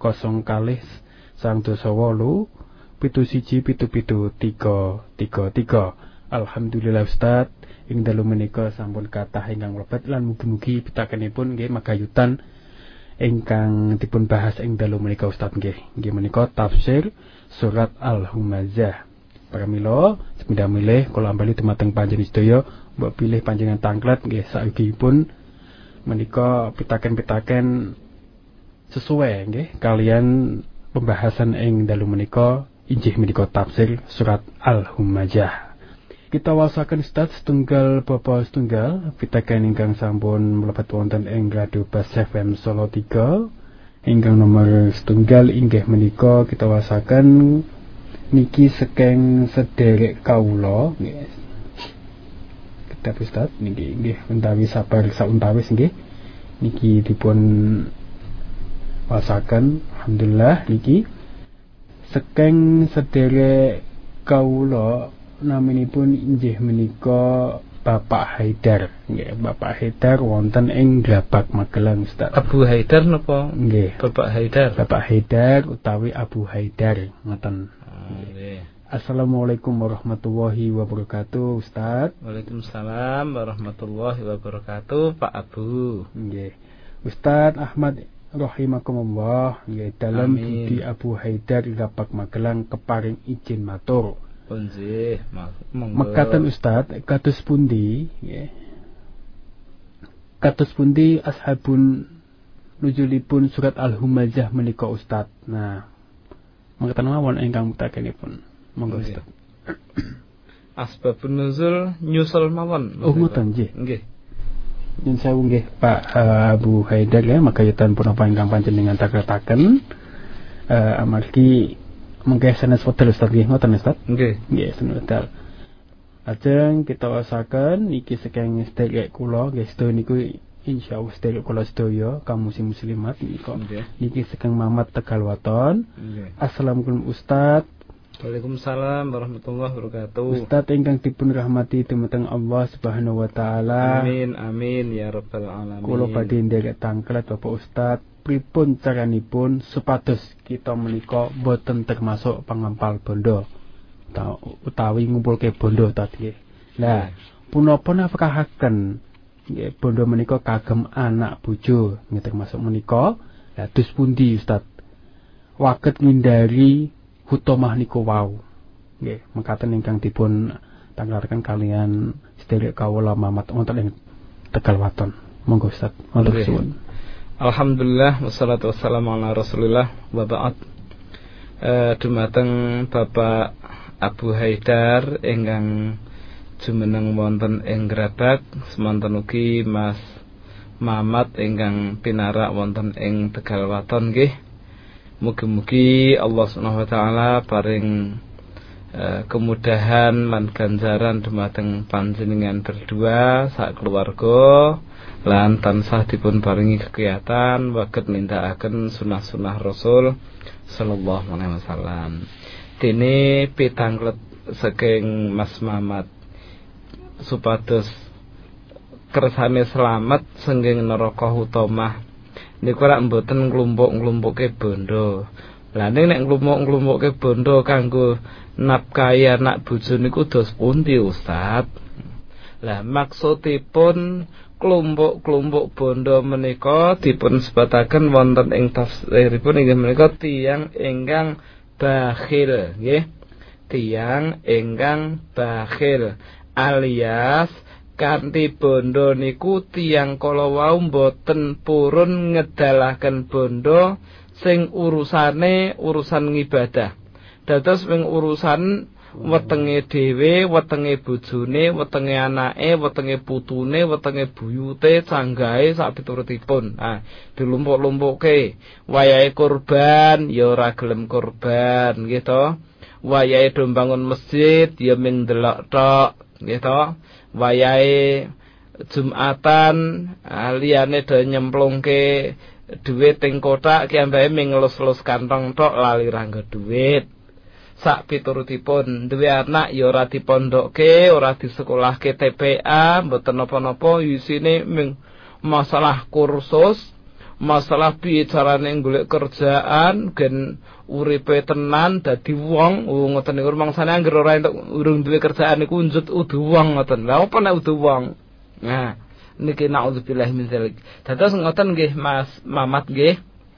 D: 0-2-9-717-733. Alhamdulillah Ustaz, ing dalu menika sampun kathah ingkang mlebet lan mugi-mugi pitakenipun nggih magayutan ingkang dipun bahas ing dalu menika Ustaz nggih. Nggih menika tafsir surat Al-Humazah. Pramila sepindah milih kula ambali dumateng panjenengan sedaya, mbok pilih panjenengan tanglet nggih saiki-pun menika pitaken-pitaken sesuai nggih kalian pembahasan ing dalu menika injih menika tafsir surat Al-Humazah. Kita wasaken Ustaz setunggal bapa setunggal pitaken ingkang sampun mlebet wonten ing Radio Bas FM Solo 3 ingkang nomor setunggal inggih menika kita wasaken niki saking sederek kawula nggih. Kita Ustaz niki nggih utawi sabar sauntawis nggih niki dipun wasaken alhamdulillah niki saking sederek kawula naminipun inggih menika Bapak Haidar nggih. Bapak Haidar wonten ing Glabak Magelang Ustaz.
C: Abu Haidar napa?
D: Nggih.
C: Bapak Haidar.
D: Bapak Haidar utawi Abu Haidar ngoten.
C: Nggih.
D: Assalamualaikum warahmatullahi wabarakatuh Ustaz.
C: Waalaikumsalam warahmatullahi wabarakatuh Pak Abu.
D: Nggih. Ustaz Ahmad rahimakumullah nggih dalam budi Abu Haidar Glabak Magelang keparing izin matur.
C: Punjih,
D: mekaten Ustaz, kados pundi nggih. Kados pundi ashabun nuzulipun surat Al-Humazah menika Ustaz. Nah, mekaten mawon ingkang mutakenipun. Monggo Ustaz.
C: Asbabun nuzul nyusul mawon.
D: Oh ngoten nggih.
C: Nggih.
D: Nyun sewu nggih Pak Abu Haidar ya, makayutan punapa ingkang panjenengan takretaken amargi mengke sanes wedal Ustaz nggih ngoten Ustaz.
C: Nggih.
D: Nggih sanes wedal. Lajeng kita wasaken iki saking sedherek kula nggih sedaya niku insyaallah sedherek kula sedaya kaum muslimat nika. Niki saking Mamat Tegalwaton. Assalamualaikum Ustaz.
C: Waalaikumsalam warahmatullahi wabarakatuh.
D: Ustaz ingkang dipun rahmati dumateng Allah Subhanahu wa taala.
C: Amin amin ya rabbal alamin.
D: Kula badhe nderek tangklet Bapak Ustaz, pripun caranipun supados kita menika boten termasuk pangampal bondo utawi ngumpulke bondo tadi. Nah, punapa nafkahaken nggih bondo menika kagem anak bojo nggih termasuk menika. Lah dus pundi Ustaz? Waket ngindari hutomah niku wau. Nggih, mekaten ingkang dipun tanglarkan kalian sedherek kawula Mamat wonten ing Tegal Waton. Monggo Ustaz. Matur suwun.
C: Alhamdulillah wassalatu wassalamu ala Rasulillah wa ba'd. Dumateng Bapak Abu Haidar ingkang jumeneng wonten ing Grabak, semanten ugi Mas Mamat ingkang pinarak wonten ing Tegal Waton nggih. Mugi-mugi Allah Subhanahu wa taala paring kemudahan lan ganjaran dumateng panjenengan berdua sak keluarga lan tansah dipun paringi kekiyatan waget nindakaken sunah-sunah Rasul sallallahu alaihi wasallam. Dene pitanglet saking Mas Mamat supados kersane selamat sengging neraka utamah niku rak mboten nglumpuk-nglumpuke bondo. Lah nek nglumpuk-nglumpuke bondo kanggo nafkahi anak bojo niku dos pundi Ustaz? Lah maksudipun klumpuk-klumpuk bondo menika dipun sebataken wonten ing tafsiripun inggih menika tiyang ingkang bakhil nggih. Tiyang ingkang bakhil alias kanthi bondo niku tiyang kala wau mboten purun ngedalaken bondo sing urusan ngibadah. Dados wing urusan wetenge dhewe, wetenge bojone, wetenge anake, wetenge putune, wetenge buyute, canggahe sak piturutipun. Dilumpuk-lumpuke. Wayahe kurban ya ora gelem kurban, nggih to. Wayahe do mbangun masjid ya mung delok tok, nggih to. Wayahe Jumatan liyane do nyemplungke duit ing kotak ki ambake ming ngelus-elus kantong tok lali ranggo duit. Sak piturutipun duwe anak ya ora dipondokke, ora disekolahke TPA, mboten napa-napa isine ming masalah kursus, masalah piye carane golek kerjaan gen uripe tenan dadi wong. Ngoten niku mangsane anggere ora entuk urung duwe kerjaan niku njut udu wong ngoten. Lha apa nek udu wong? Nah, niki naudzubillah min dzalik. Dados ngoten nggih Mas Mamat nggih.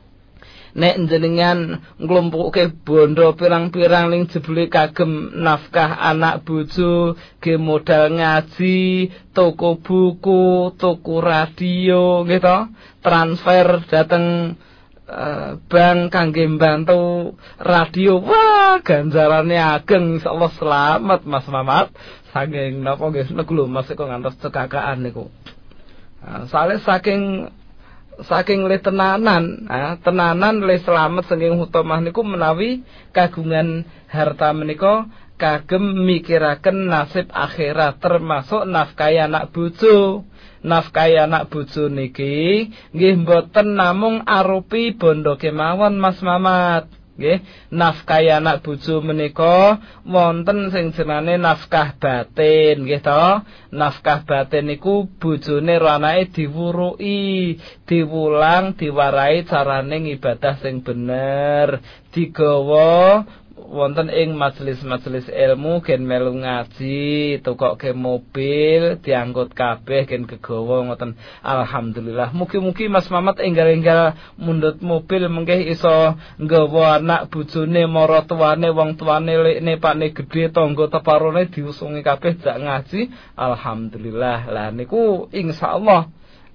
C: Nek njenengan nglumpukke bondo pirang-pirang ning jebule kagem nafkah anak bojo, ge modal ngaji, toko buku, toko radio nggih to, transfer dateng bank kangge mbantu radio. Wah, ganjarane ageng insyaallah selamat Mas Mamat. Saking napa nggih niku lho Mas kok ngantos cekakaan niku. Sale saking le tenanan, tenanan le selamat saking hutomah niku menawi kagungan harta menika kagem mikiraken nasib akhirat termasuk nafkahi anak bojo. Nafkahi anak bojo niki nggih mboten namung arupi bondo kemawon Mas Mamat. Nggih, nafkahi anak bojo menika wonten sing jenenge nafkah batin, nggih to. Nafkah batin niku bojone ro anake diwuruki, diwulang, diwarai carane ngibadah sing bener, digawa wonten ing majelis-majelis ilmu gen melu ngaji, tukokke mobil, diangkut kabeh gen kegawa ngoten. Alhamdulillah. Mugi-mugi Mas Mamat enggal-enggal mundhut mobil mengke iso nggawa anak bojone, maratuwane, wong tuane lekne pakne gedhe, tangga teparone diusungi kabeh jak ngaji. Alhamdulillah. Lah niku insyaallah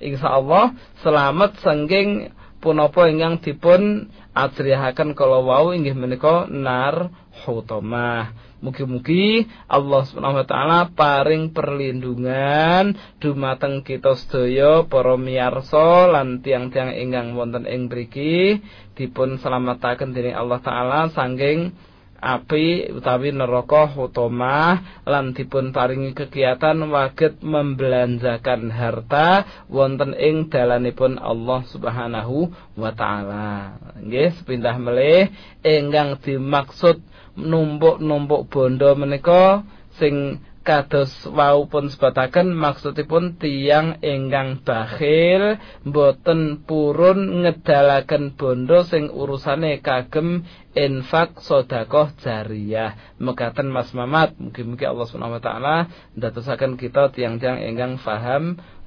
C: selamat saking punapa ingkang dipun ajrihaken kala wau inggih menika nar hutamah. Mugi-mugi Allah Subhanahu wa taala paring perlindungan dumateng kita sedaya para miyarsa lan tiang-tiang ingkang wonten ing mriki dipun slametaken dening Allah taala saking api utawi neraka hutamah lan dipun paringi kegiatan waget membelanjakan harta wonten ing dalanipun Allah Subhanahu wa taala. Nggih, sepindah melih ingkang dimaksud numpuk-numpuk bondo menika sing kados wau pun sebataken maksudipun tiyang ingkang bakhil mboten purun ngedalaken bondo sing urusane kagem infak sedekah jariyah. Mekaten Mas Mamat, mugi-mugi Allah Subhanahu wa taala ndadosaken kita tiyang-tiyang ingkang paham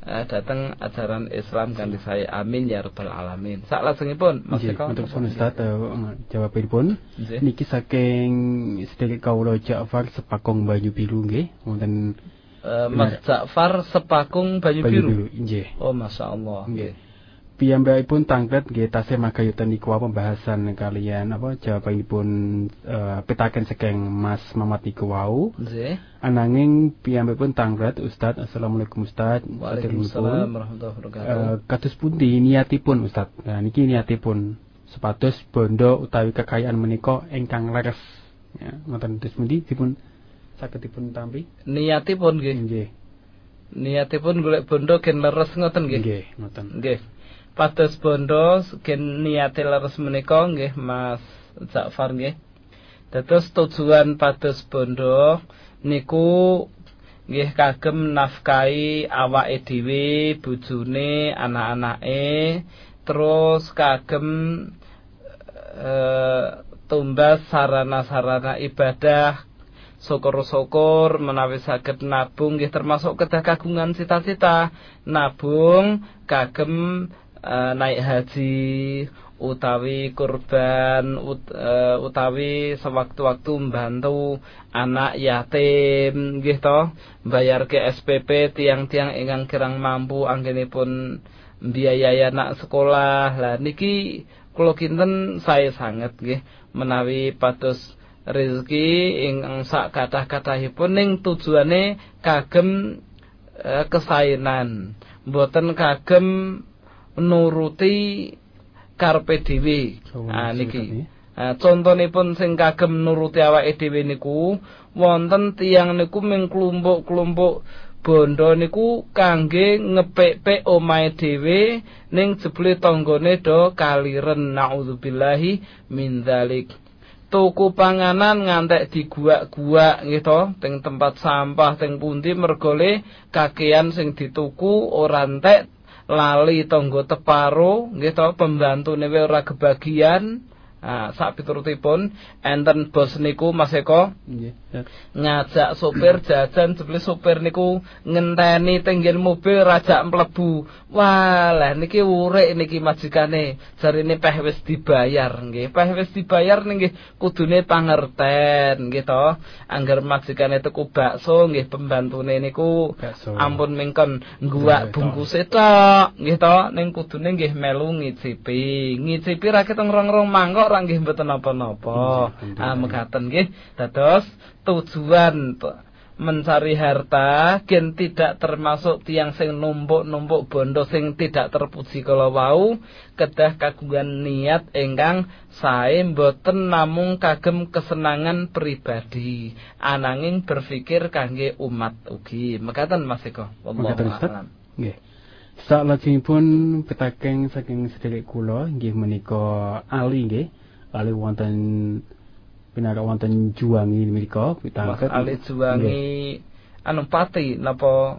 C: datang ajaran Islam kanthi sae. Amin ya rabbal alamin. Saklajengipun Mas Eko.
D: Untuk Ustaz jawabipun niki saking sedherek kawula Ja'far Sepakung Banyu Biru nggih wonten
C: Mas Ja'far Sepakung Banyu Biru.
D: Nggih.
C: Oh masyaallah.
D: Nggih. Piyambakipun tanglet nggih tasih magayutan niku pembahasan kalian jawabanipun pitaken saking Mas Mamat niku wau.
C: Nggih.
D: Ananging piyambakipun tanglet Ustaz. Assalamualaikum Ustaz.
C: Waalaikumsalam warahmatullahi wabarakatuh.
D: Kados pundi niatipun Ustaz? Nah niki niatipun supados bondo utawi kekayaan menika ingkang leres. Ya, ngoten terus pundi dipun saged dipun tampi?
C: Niatipun nggih.
D: Nggih.
C: Niatipun golek bondo gen leres ngoten nggih.
D: Nggih, ngoten.
C: Nggih. Pados bondo gen niate leres menika nggih Mas Ja'far nggih. Dados tujuan pados bondo niku nggih kagem nafkahi awake dhewe, bojone, anak-anake, terus kagem tumbas sarana-sarana ibadah, syukur-syukur menawi saged nabung nggih termasuk kedah kagungan cita-cita nabung kagem naik haji utawi kurban utawi sewaktu-waktu mbantu anak yatim nggih to, mbayarke SPP tiang-tiang ingkang kirang mampu anggenipun mbiayai anak sekolah. Lah niki kula kinten sae sanget nggih menawi pados rezeki ingkang sak kathah-kathahipun ning tujuane kagem kesaenan, mboten kagem nuruti karepe dhewe. Niki. Contonipun sing kagem nuruti awake dhewe niku wonten tiyang niku ming klumpuk-klumpuk bondo niku kangge ngepek-pek omahe dhewe ning jebule tanggane do kaliren. Naudzubillahi min dzalik. Tuku panganan ngantek diguak-guak nggih to teng tempat sampah teng pundi mergole kakean sing dituku ora entek lali tangga teparo nggih to pembantune ora kebagian. Sak piturutipun enten bos niku Mas Eko ngajak sopir jajan, jebule sopir niku ngenteni tenggen mobil rajak mlebu. Wah, lah niki urek niki majikane, jarine peh wis dibayar nggih. Peh wis dibayar nggih kudune pangerten nggih to. Angger majikane tuku bakso nggih pembantune niku ampun mingkon ngguak bungkuse tok nggih to, ning kudune nggih melu ngicipi. Ngicipi ra ketong rong-rong mangkok ora nggih mboten napa-napa. Mekaten nggih. Dados tujuan mencari harta gen tidak termasuk tiang sing numpuk-numpuk bondo sing tidak terpuji kala wau, kedah kagungan niat ingkang sae mboten namung kagem kesenangan pribadi, ananging berpikir kangge umat ugi. Mekaten Mas Eko. Wallahu a'lam.
D: Nggih. Salajengipun pitaken saking sedherek kula nggih menika Ali nggih. Ali wonten pinara wonten Juwangi menika pitangket.
C: Mas Ali Juwangi anu Pati napa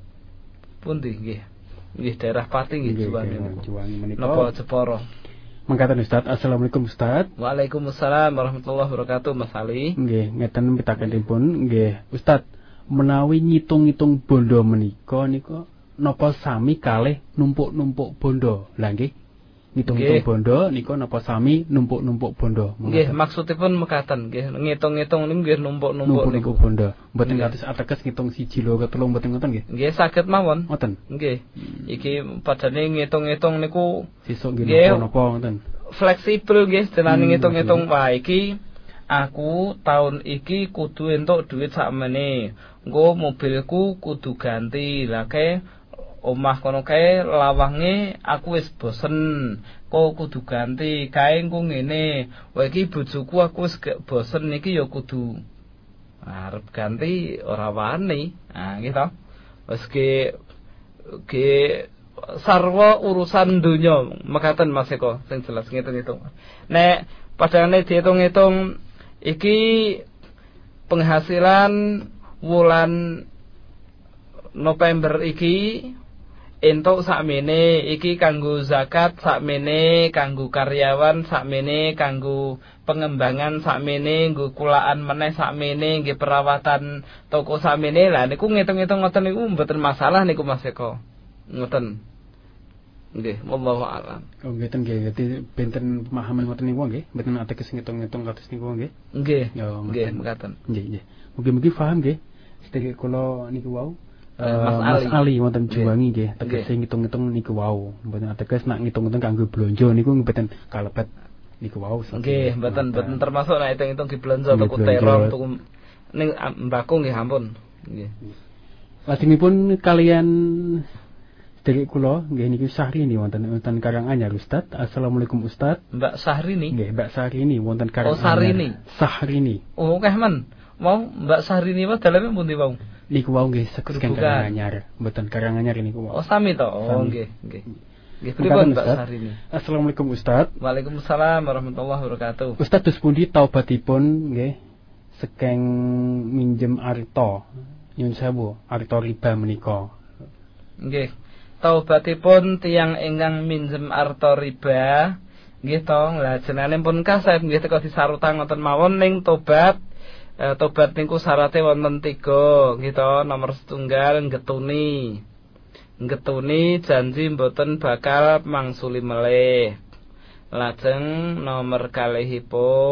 C: pundi nggih? Nggih daerah Pati nggih Juwangi.
D: Juwangi menika
C: napa Jepara.
D: Mangkaten Ustaz. Assalamualaikum Ustaz.
C: Waalaikumsalam warahmatullahi wabarakatuh Mas Ali.
D: Nggih, ngeten pitakenipun nggih Ustaz, menawi ngitung-ngitung bondo menika napa sami kalih numpuk-numpuk bondo? Lah nggih. Ngitung-ngitung bondo nika napa sami numpuk-numpuk bondo?
C: Nggih, maksudipun mekaten nggih, ngitung-ngitung niku nggih numpuk-numpuk
D: bondo. Mboten kados ateges ngitung 1 2 3 mboten ngoten nggih.
C: Nggih, saged mawon.
D: Ngoten.
C: Nggih. Iki padane ngitung-ngitung niku
D: sesuk nggih napa ngoten.
C: Fleksibel nggih, jenenge ngitung-ngitung. Wah, iki aku tahun iki kudu entuk duit sakmene. Engko mobilku kudu ganti. Lah kae omah kono kae lawange aku wis bosen, kok kudu ganti. Kae engko ngene, wae iki bojoku aku wis bosen iki ya kudu arep ganti ora wani. Nggih to. Wis ge sarwa urusan donya mekaten Mas Eko sing jelas ngitung-ngitung. Nek padane diitung-itung iki penghasilan wulan November iki entuk sakmene, iki kanggo zakat sakmene, kanggo karyawan sakmene, kanggo pengembangan sakmene, nggo kulaan meneh sakmene, nggih perawatan toko sakmene. Lah niku ngitung-ngitung ngoten niku mboten masalah niku Mas Eko. Ngoten. Nggih, wallahu a'lam.
D: Oh ngeten nggih, dadi benten pemahaman ngoten niku nggih, mboten ateges ngitung-ngitung kados niku nggih.
C: Nggih.
D: Ya
C: Nggih, mekaten.
D: Nggih. Mugi-mugi paham nggih. Sedherek kula niku wau.
C: Mas
D: Ali wonten Juwangi nggih, tegese ngitung-ngitung niku wau. Mboten ateges nak ngitung-ngitung kanggo blonjo niku mboten kalebet niku wau.
C: Nggih, mboten termasuk nek hitung-hitung di blonjo tuku terong tuku ning mbako nggih ampun. Nggih.
D: Lajengipun kalian sedherek kula nggih niki Syahrini wonten Karanganyar Ustaz. Assalamualaikum Ustaz.
C: Mbak Syahrini.
D: Nggih, Mbak Syahrini wonten Karanganyar.
C: Oh, Syahrini.
D: Syahrini.
C: Oh, akeh men. Mau Mbak Syahrini wae daleme pundi wau?
D: Niku wau nggih saking Karanganyar, mboten Karanganyar niku wau.
C: Oh, sami to. Oh, nggih. Nggih, pripun Mbak Syahrini?
D: Assalamualaikum Ustaz.
C: Waalaikumsalam warahmatullahi wabarakatuh.
D: Ustaz dos pundi taubatipun nggih saking minjem arta nyun sewu arta riba menika?
C: Nggih. Taubatipun tiyang ingkang minjem arta riba nggih to, lha jenenge pun kaset nggih teka disarutang ngoten mawon ning tobat. Tobat niku syaratnya wonten 3 nggih to. Nomor 1 ngetuni janji mboten bakal mangsuli melih. Lajeng nomor 2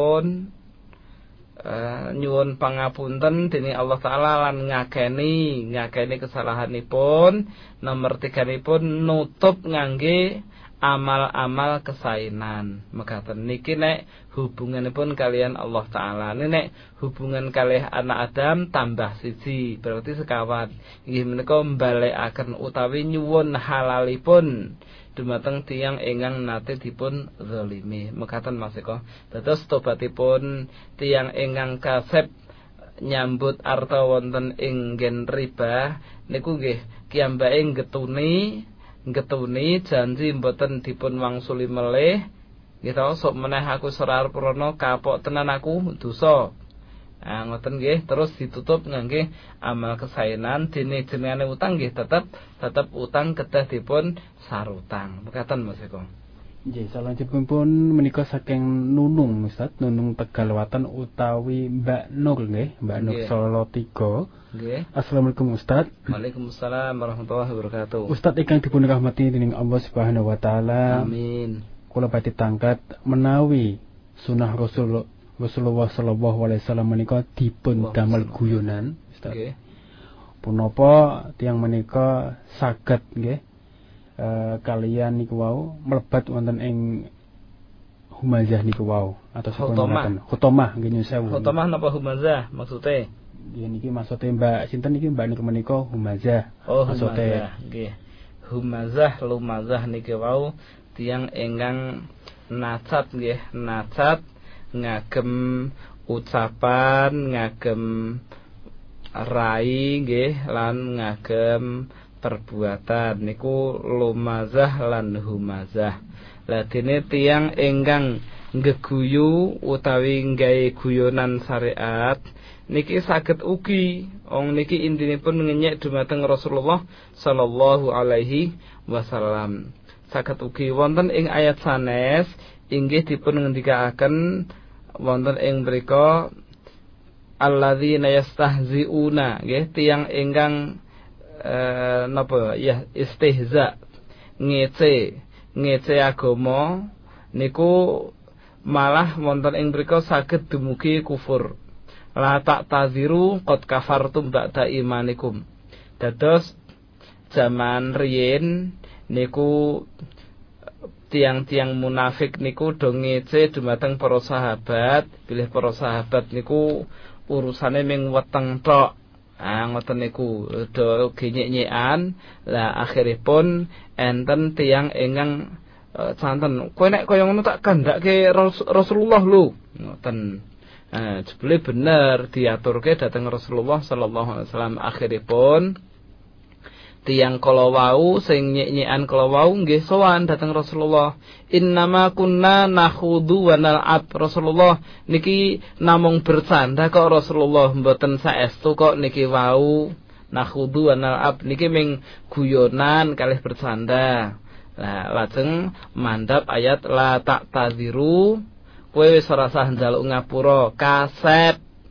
C: nyuwun pangapunten dening Allah taala lan ngakeni kesalahanipun. Nomor 3 nutup ngangge amal-amal kesainan. Mekaten niki nek hubunganipun kalian Allah taala. Nek hubungan kalih anak Adam tambah 1 berarti sekawan. Inggih menika mbalekaken utawi nyuwun halalipun dumateng tiyang ingkang nate dipun zalimi. Mekaten masika. Dados tobatipun tiyang ingkang kasep nyambut arta wonten ing nggen riba niku nggih kiyambake ngetuni janji mboten dipun wangsuli melih. Nggih to, sok meneh aku serar prana kapok tenan aku dosa. Ngoten nggih, terus ditutup ngangge amal kesainan dene jenengane utang nggih tetep utang kedah dipun sarutang. Mekaten Mas Eko.
D: Nggih, salajengipun menika saking Nunung Ustaz, Nunung Tegalwatan utawi Mbak Nur nggih, Mbak Nur Solo 3. Nggih. Assalamualaikum Ustaz.
C: Waalaikumsalam warahmatullahi wabarakatuh.
D: Ustaz ingkang dipun rahmati dening Allah Subhanahu wa taala.
C: Amin.
D: Kula badhe tangkat menawi sunah Rasulullah sallallahu alaihi wasallam menika dipun damel guyonan Ustaz. Nggih. Punapa tiyang menika saged nggih kalian niku wau mlebat wonten ing humazah niku wau atau khutamah nggih nyun sewu.
C: Khutamah napa humazah maksude?
D: Nggih niki maksude Mbak sinten niki Mbak niku menika humazah.
C: Oh, humazah nggih. Humazah lumazah niki wau tiyang ingkang nacat nggih, nacat ngagem ucapan, ngagem rai nggih lan ngagem perbuatan niku lumazah lan humazah. Lah dene tiyang ingkang ngeguyu utawi nggawe guyonan syariat niki saged ugi niki intinipun ngenyek dumateng Rasulullah sallallahu alaihi wasallam. Saged ugi wonten ing ayat sanes inggih dipun ngendikaaken wonten ing mriku alladzina yastahziuna nggih tiyang ingkang napa ya istihza ngece agama niku malah wonten ing mriku saged dumugi kufur. La ta'taziru qad kafartum ba'da imanikum. Dados zaman riyin niku tiang-tiang munafik niku do ngece dumateng para sahabat, bilih para sahabat niku urusane ming weteng tok. Ngoten niku do genyek-nyekan. Lah akhiripun enten tiang ingkang santen, kowe nek kaya ngono tak kandhake Rasulullah lho. Ngoten. Jebule bener diaturke dhateng Rasulullah sallallahu alaihi wasallam. Akhiripun tiyang kala wau sing nyek-nyekan kala wau nggih sowan dhateng Rasulullah. Innama kunna nakhudu wa nal'ab. Rasulullah niki namung bercanda kok Rasulullah, mboten saestu kok niki wau nakhudu wa nal'ab niki ming guyonan kalih bercanda. Lah lajeng mandhap ayat la ta'tadziru, kowe wis ora usah njaluk ngapura, kasep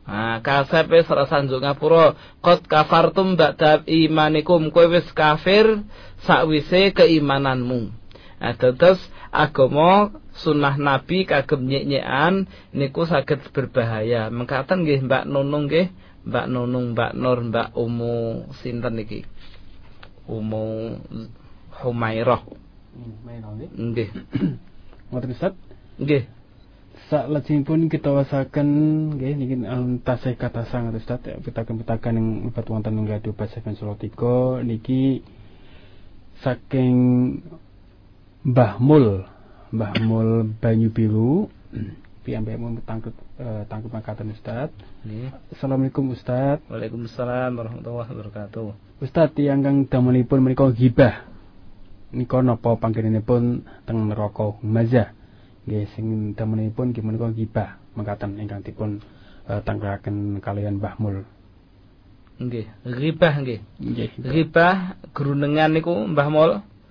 C: Kasep wis ora sanjuk ngapura. Qad kafartum ba'da imanikum, kowe wis kafir sakwise keimananmu. Terus agama sunah Nabi kagem nyek-nyekan niku saged berbahaya. Mengkaten nggih Mbak Nunung nggih, Mbak Nunung, Mbak Nur, Mbak Umu sinten niki? Umu Humairah. Nggih.
D: Ngoten Ustaz?
C: Nggih.
D: Salajengipun kita wasaken nggih niki tasih kata sangat Ustaz pitaken-pitaken ing libat wonten ing Radio Bas FM Solo 3 niki saking Mbah Mul Banyu Biru piyambakipun tangkep makaten Ustaz. Assalamualaikum Ustaz.
C: Waalaikumsalam warahmatullahi wabarakatuh.
D: Ustaz tiyang kang damelipun menika ghibah nika napa panggenipun teng neraka Humazah? Nggih sing damelipun nggih menika ghibah mekaten ingkang dipun tangkaraken kalian Mbah Mul.
C: Nggih, ghibah nggih.
D: Nggih.
C: Ghibah grunengan niku Mbah Mul.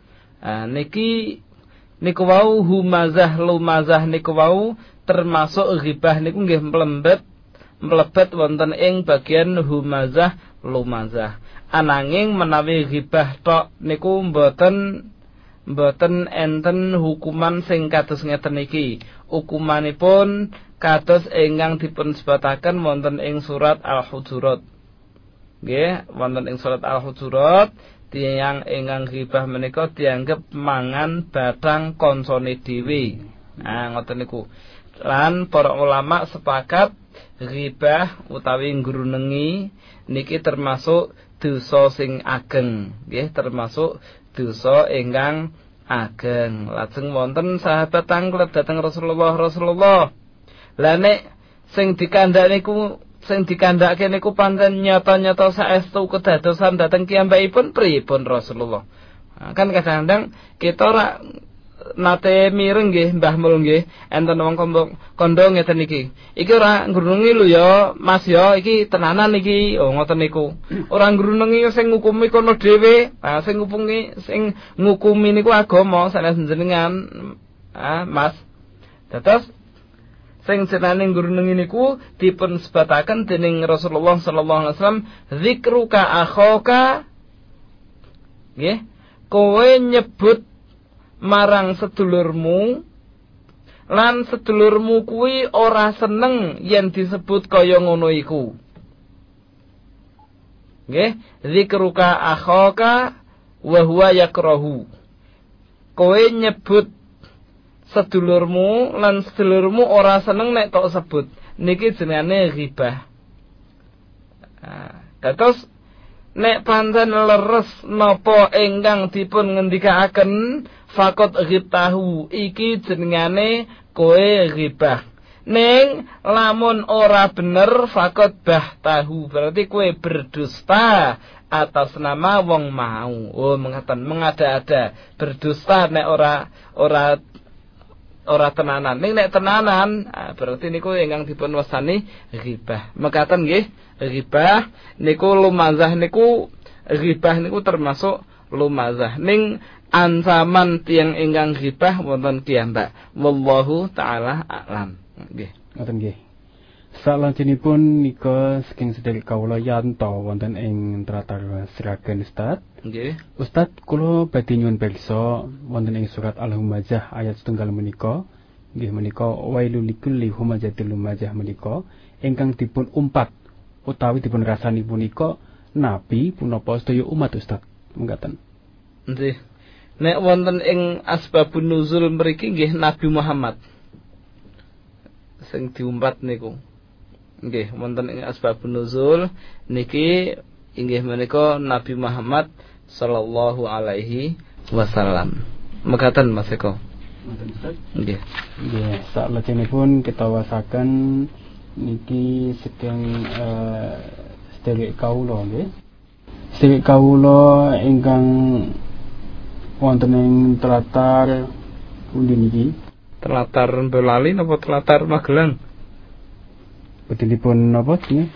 C: Niku wau humazah lumazah niku wau termasuk ghibah niku nggih mlebet wonten ing bagian humazah lumazah. Ananging menawi ghibah tok niku mboten enten hukuman sing kados ngeten iki. Hukumanipun kados ingkang dipun sebataken wonten ing surat Al-Hujurat. Nggih, wonten ing surat Al-Hujurat tiyang ingkang ghibah menika dianggep mangan batang kancane dhewe. Ngoten niku. Lan para ulama sepakat ghibah utawi ngrunengi niki termasuk dosa sing ageng, nggih, termasuk dosa ingkang ageng. Lajeng wonten sahabat tanglet dhateng Rasulullah. Lah nek sing dikandhake niku pancen nyata-nyata saestu kedadosan dhateng kiyambakipun pripun Rasulullah. Kan kadang-kadang kita ora nate mireng nggih Mbah Mul nggih enten wong kandha ngeten iki. Iki ora ngrunungi lho ya Mas ya, iki tenanan iki. Oh ngoten niku. Ora ngrunungi sing ngukumi kono dhewe. Sing ngukumi niku agama sanes jenengan. Mas. Dados sing jenenge ngrunungi niku dipun sebataken dening Rasulullah sallallahu alaihi wasallam zikruka akhaka. Nggih. Kowe nyebut marang sedulurmu lan sedulurmu kuwi ora seneng yen disebut kaya ngono iku. Nggih, zikruka akhaka wa huwa yakrahu. Kowe nyebut sedulurmu lan sedulurmu ora seneng nek tok sebut. Niki jenenge ghibah. Terus nek pancen leres napa ingkang dipun ngendikaaken fakot ghibtahu iki jenengane kowe ghibah. Ning lamun ora bener fakot bahtahu berarti kowe berdusta atas nama wong mau. Oh mengatakan mengada-ada berdusta nek ora tenanan. Ning nek tenanan berarti niku ingkang dipun wastani ghibah. Mekaten nggih, ghibah niku lumazah niku ghibah niku termasuk lumazah. Ning ancaman tiyang ingkang ghibah wonten piyambak. Wallahu taala a'lam. Nggih.
D: Ngoten nggih. Salajengipun nika saking sedherek kawula yanto wonten ing tratar siragen Ustaz.
C: Nggih.
D: Ustaz kula badhe nyuwun pirsa wonten ing surat Al-Humazah ayat 1 menika nggih menika wailul likulli humazatil lumazah menika ingkang dipun umpat utawi dipun rasani punika nabi punapa sedaya umat Ustaz. Mengkaten.
C: Nggih. Nek wonten ing asbabun nuzul mriki nggih Nabi Muhammad sing diumpat niku. Nggih, wonten ing asbabun nuzul niki inggih menika Nabi Muhammad sallallahu alaihi wasallam. Mekaten Mas Eko.
D: Ngoten Ustaz.
C: Nggih.
D: Nggih, salajengipun kita wasaken niki saking sedherek kawula nggih. Sedherek kawula ingkang wonten ing telatar pundi niki?
C: Telatar Boyolali napa telatar Magelang?
D: Betinipun napa nggih?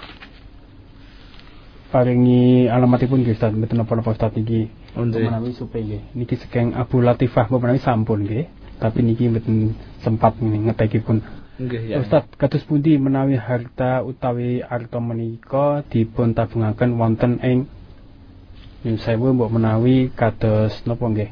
D: Paringi alamatipun nggih Ustaz, mboten napa-napa Ustaz niki. Menawi supe nggih. Niki saking Abu Latifah menawi sampun nggih. Tapi niki mboten sempat ngetekipun
C: Nggih ya.
D: Ustaz, kados pundi menawi harta utawi arta menika dipun tabungaken wonten ing nyun sewu mbok menawi kados napa nggih?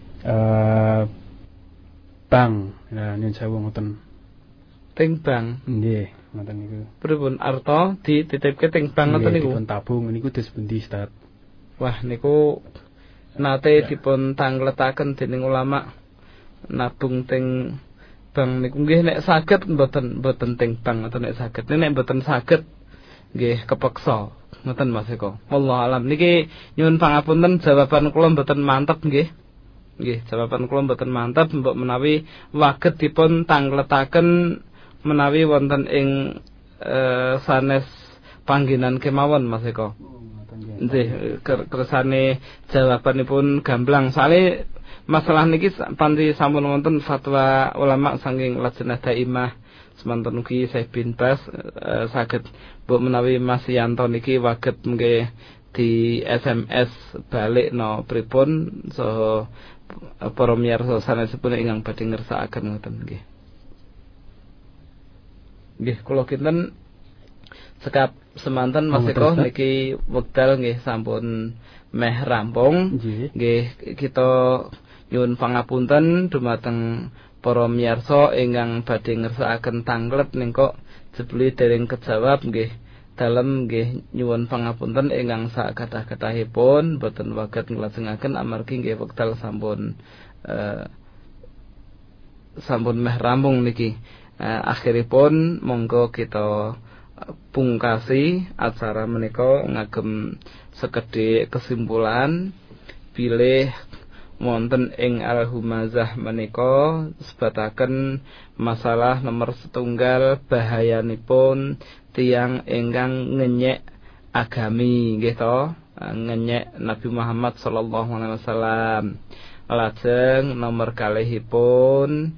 D: Bank. Nah, nyun sewu ngoten.
C: Teng bank.
D: Nggih, ngoten niku.
C: Pripun arta dititipke teng bank ngoten niku?
D: Dipun tabung niku dos pundi, Ustaz?
C: Wah, niku nate dipun tangletaken dening ulama nabung teng bank niku nggih nek saged mboten teng bank atau nek saged. Nek mboten saged nggih kepeksa. Ngoten Mas Eko. Wallahu alam. Niki nyuwun pangapunten jawaban kula mboten mantep nggih. Nggih, jawaban kula mboten mantep mbok menawi waget dipun tangletaken menawi wonten ing sanes panggenan kemawon Mas Eko. Nggih, kersane jawabanipun gamblang. Soale masalah niki panti sampun wonten fatwa ulama saking Lajnah Daimah semanten ugi Syekh bin Bas saged mbok menawi Mas Yanto niki waget nggih di SMS balik no pripun saha para miyarsa sanesipun ingkang badhe ngersakaken ngoten nggih. Nggih, kula kinten sekap semanten Mas Eko niki wekdal nggih sampun meh rampung. Nggih, kita nyuwun pangapunten dumateng para miyarsa ingkang badhe ngersakaken tanglet ning kok jebule dereng kejawab nggih. Dalem nggih nyuwun pangapunten ingkang sakathah-kathahipun boten waget nglajengaken amargi nggih wekdal sampun meh rampung niki. Akhiripun monggo kita pungkasi acara menika ngagem sekedhik kesimpulan bilih wonten ing al-humazah menika sebataken masalah nomor setunggal bahayanipun tiyang ingkang ngenyek agami nggih to, ngenyek Nabi Muhammad sallallahu alaihi wasallam. Lajeng nomor kalihipun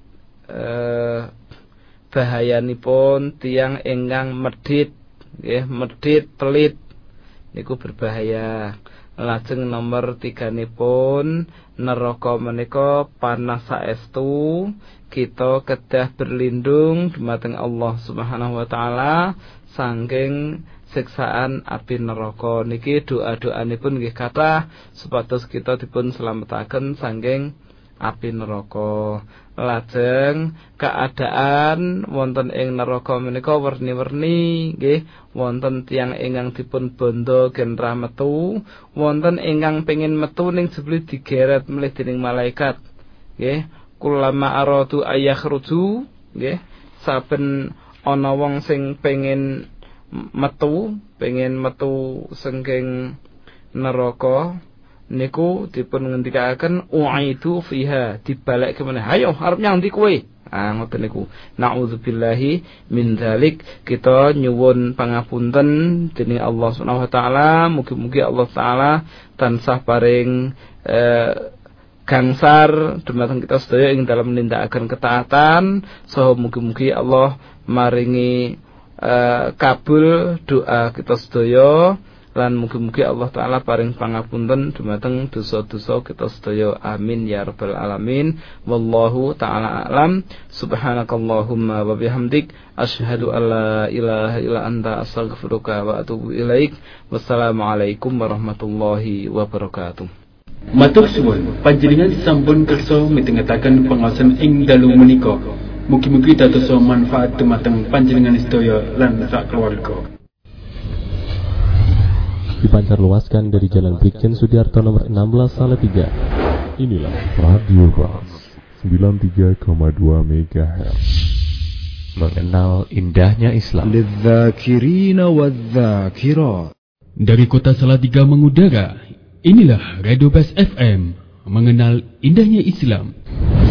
C: bahayanipun tiyang ingkang medhit nggih, medhit pelit niku berbahaya. Lajeng nomor 3-nipun neraka menika panas saestu, kita kedah berlindung dumateng Allah Subhanahu wa taala saking siksaan api neraka. Niki doa-doanipun nggih kathah supados kita dipun slametaken saking api neraka. Lajeng keadaan wonten ing neraka menika werni-werni nggih, wonten tiyang ingkang dipun bondo genrah metu, wonten ingkang pengin metu ning jebule digeret melih dening malaikat nggih. Kulama aradu ayakhruju nggih, saben ana wong sing pengin metu saking neraka niku dipun ngendikaken uaidu fiha, dibalik kemana, ayo arep nyang ndi kowe. Ngoten niku. Nauzubillahi min dzalik. Kita nyuwun pangapunten dening Allah Subhanahu wa taala, mugi-mugi Allah taala tansah paring gangsar dumateng kita sedaya ing dalam nindakaken ketaatan, saha mugi-mugi Allah maringi kabul doa kita sedaya. Lan mugi-mugi Allah taala paring pangapunten dumateng dosa-dosa kita sedaya. Amin ya rabbal alamin. Wallahu taala alam. Subhanakallahumma wa bihamdik asyhadu an la ilaha illa anta astaghfiruka wa atubu ilaik. Wassalamualaikum warahmatullahi wabarakatuh.
B: Matur suwun panjenengan sampun kersa mitengetaken pangaosan ing dalu menika. Mugi-mugi dados manfaat dumateng panjenengan sedaya lan sak keluarga.
A: Dipancar luaskan dari Jalan Brigjen Sudiarto nomor 16 Salatiga. Inilah Radio Bas 93,2 MHz. Mengenal indahnya Islam.
B: Dari kota Salatiga mengudara, inilah Radio Bas FM. Mengenal indahnya Islam.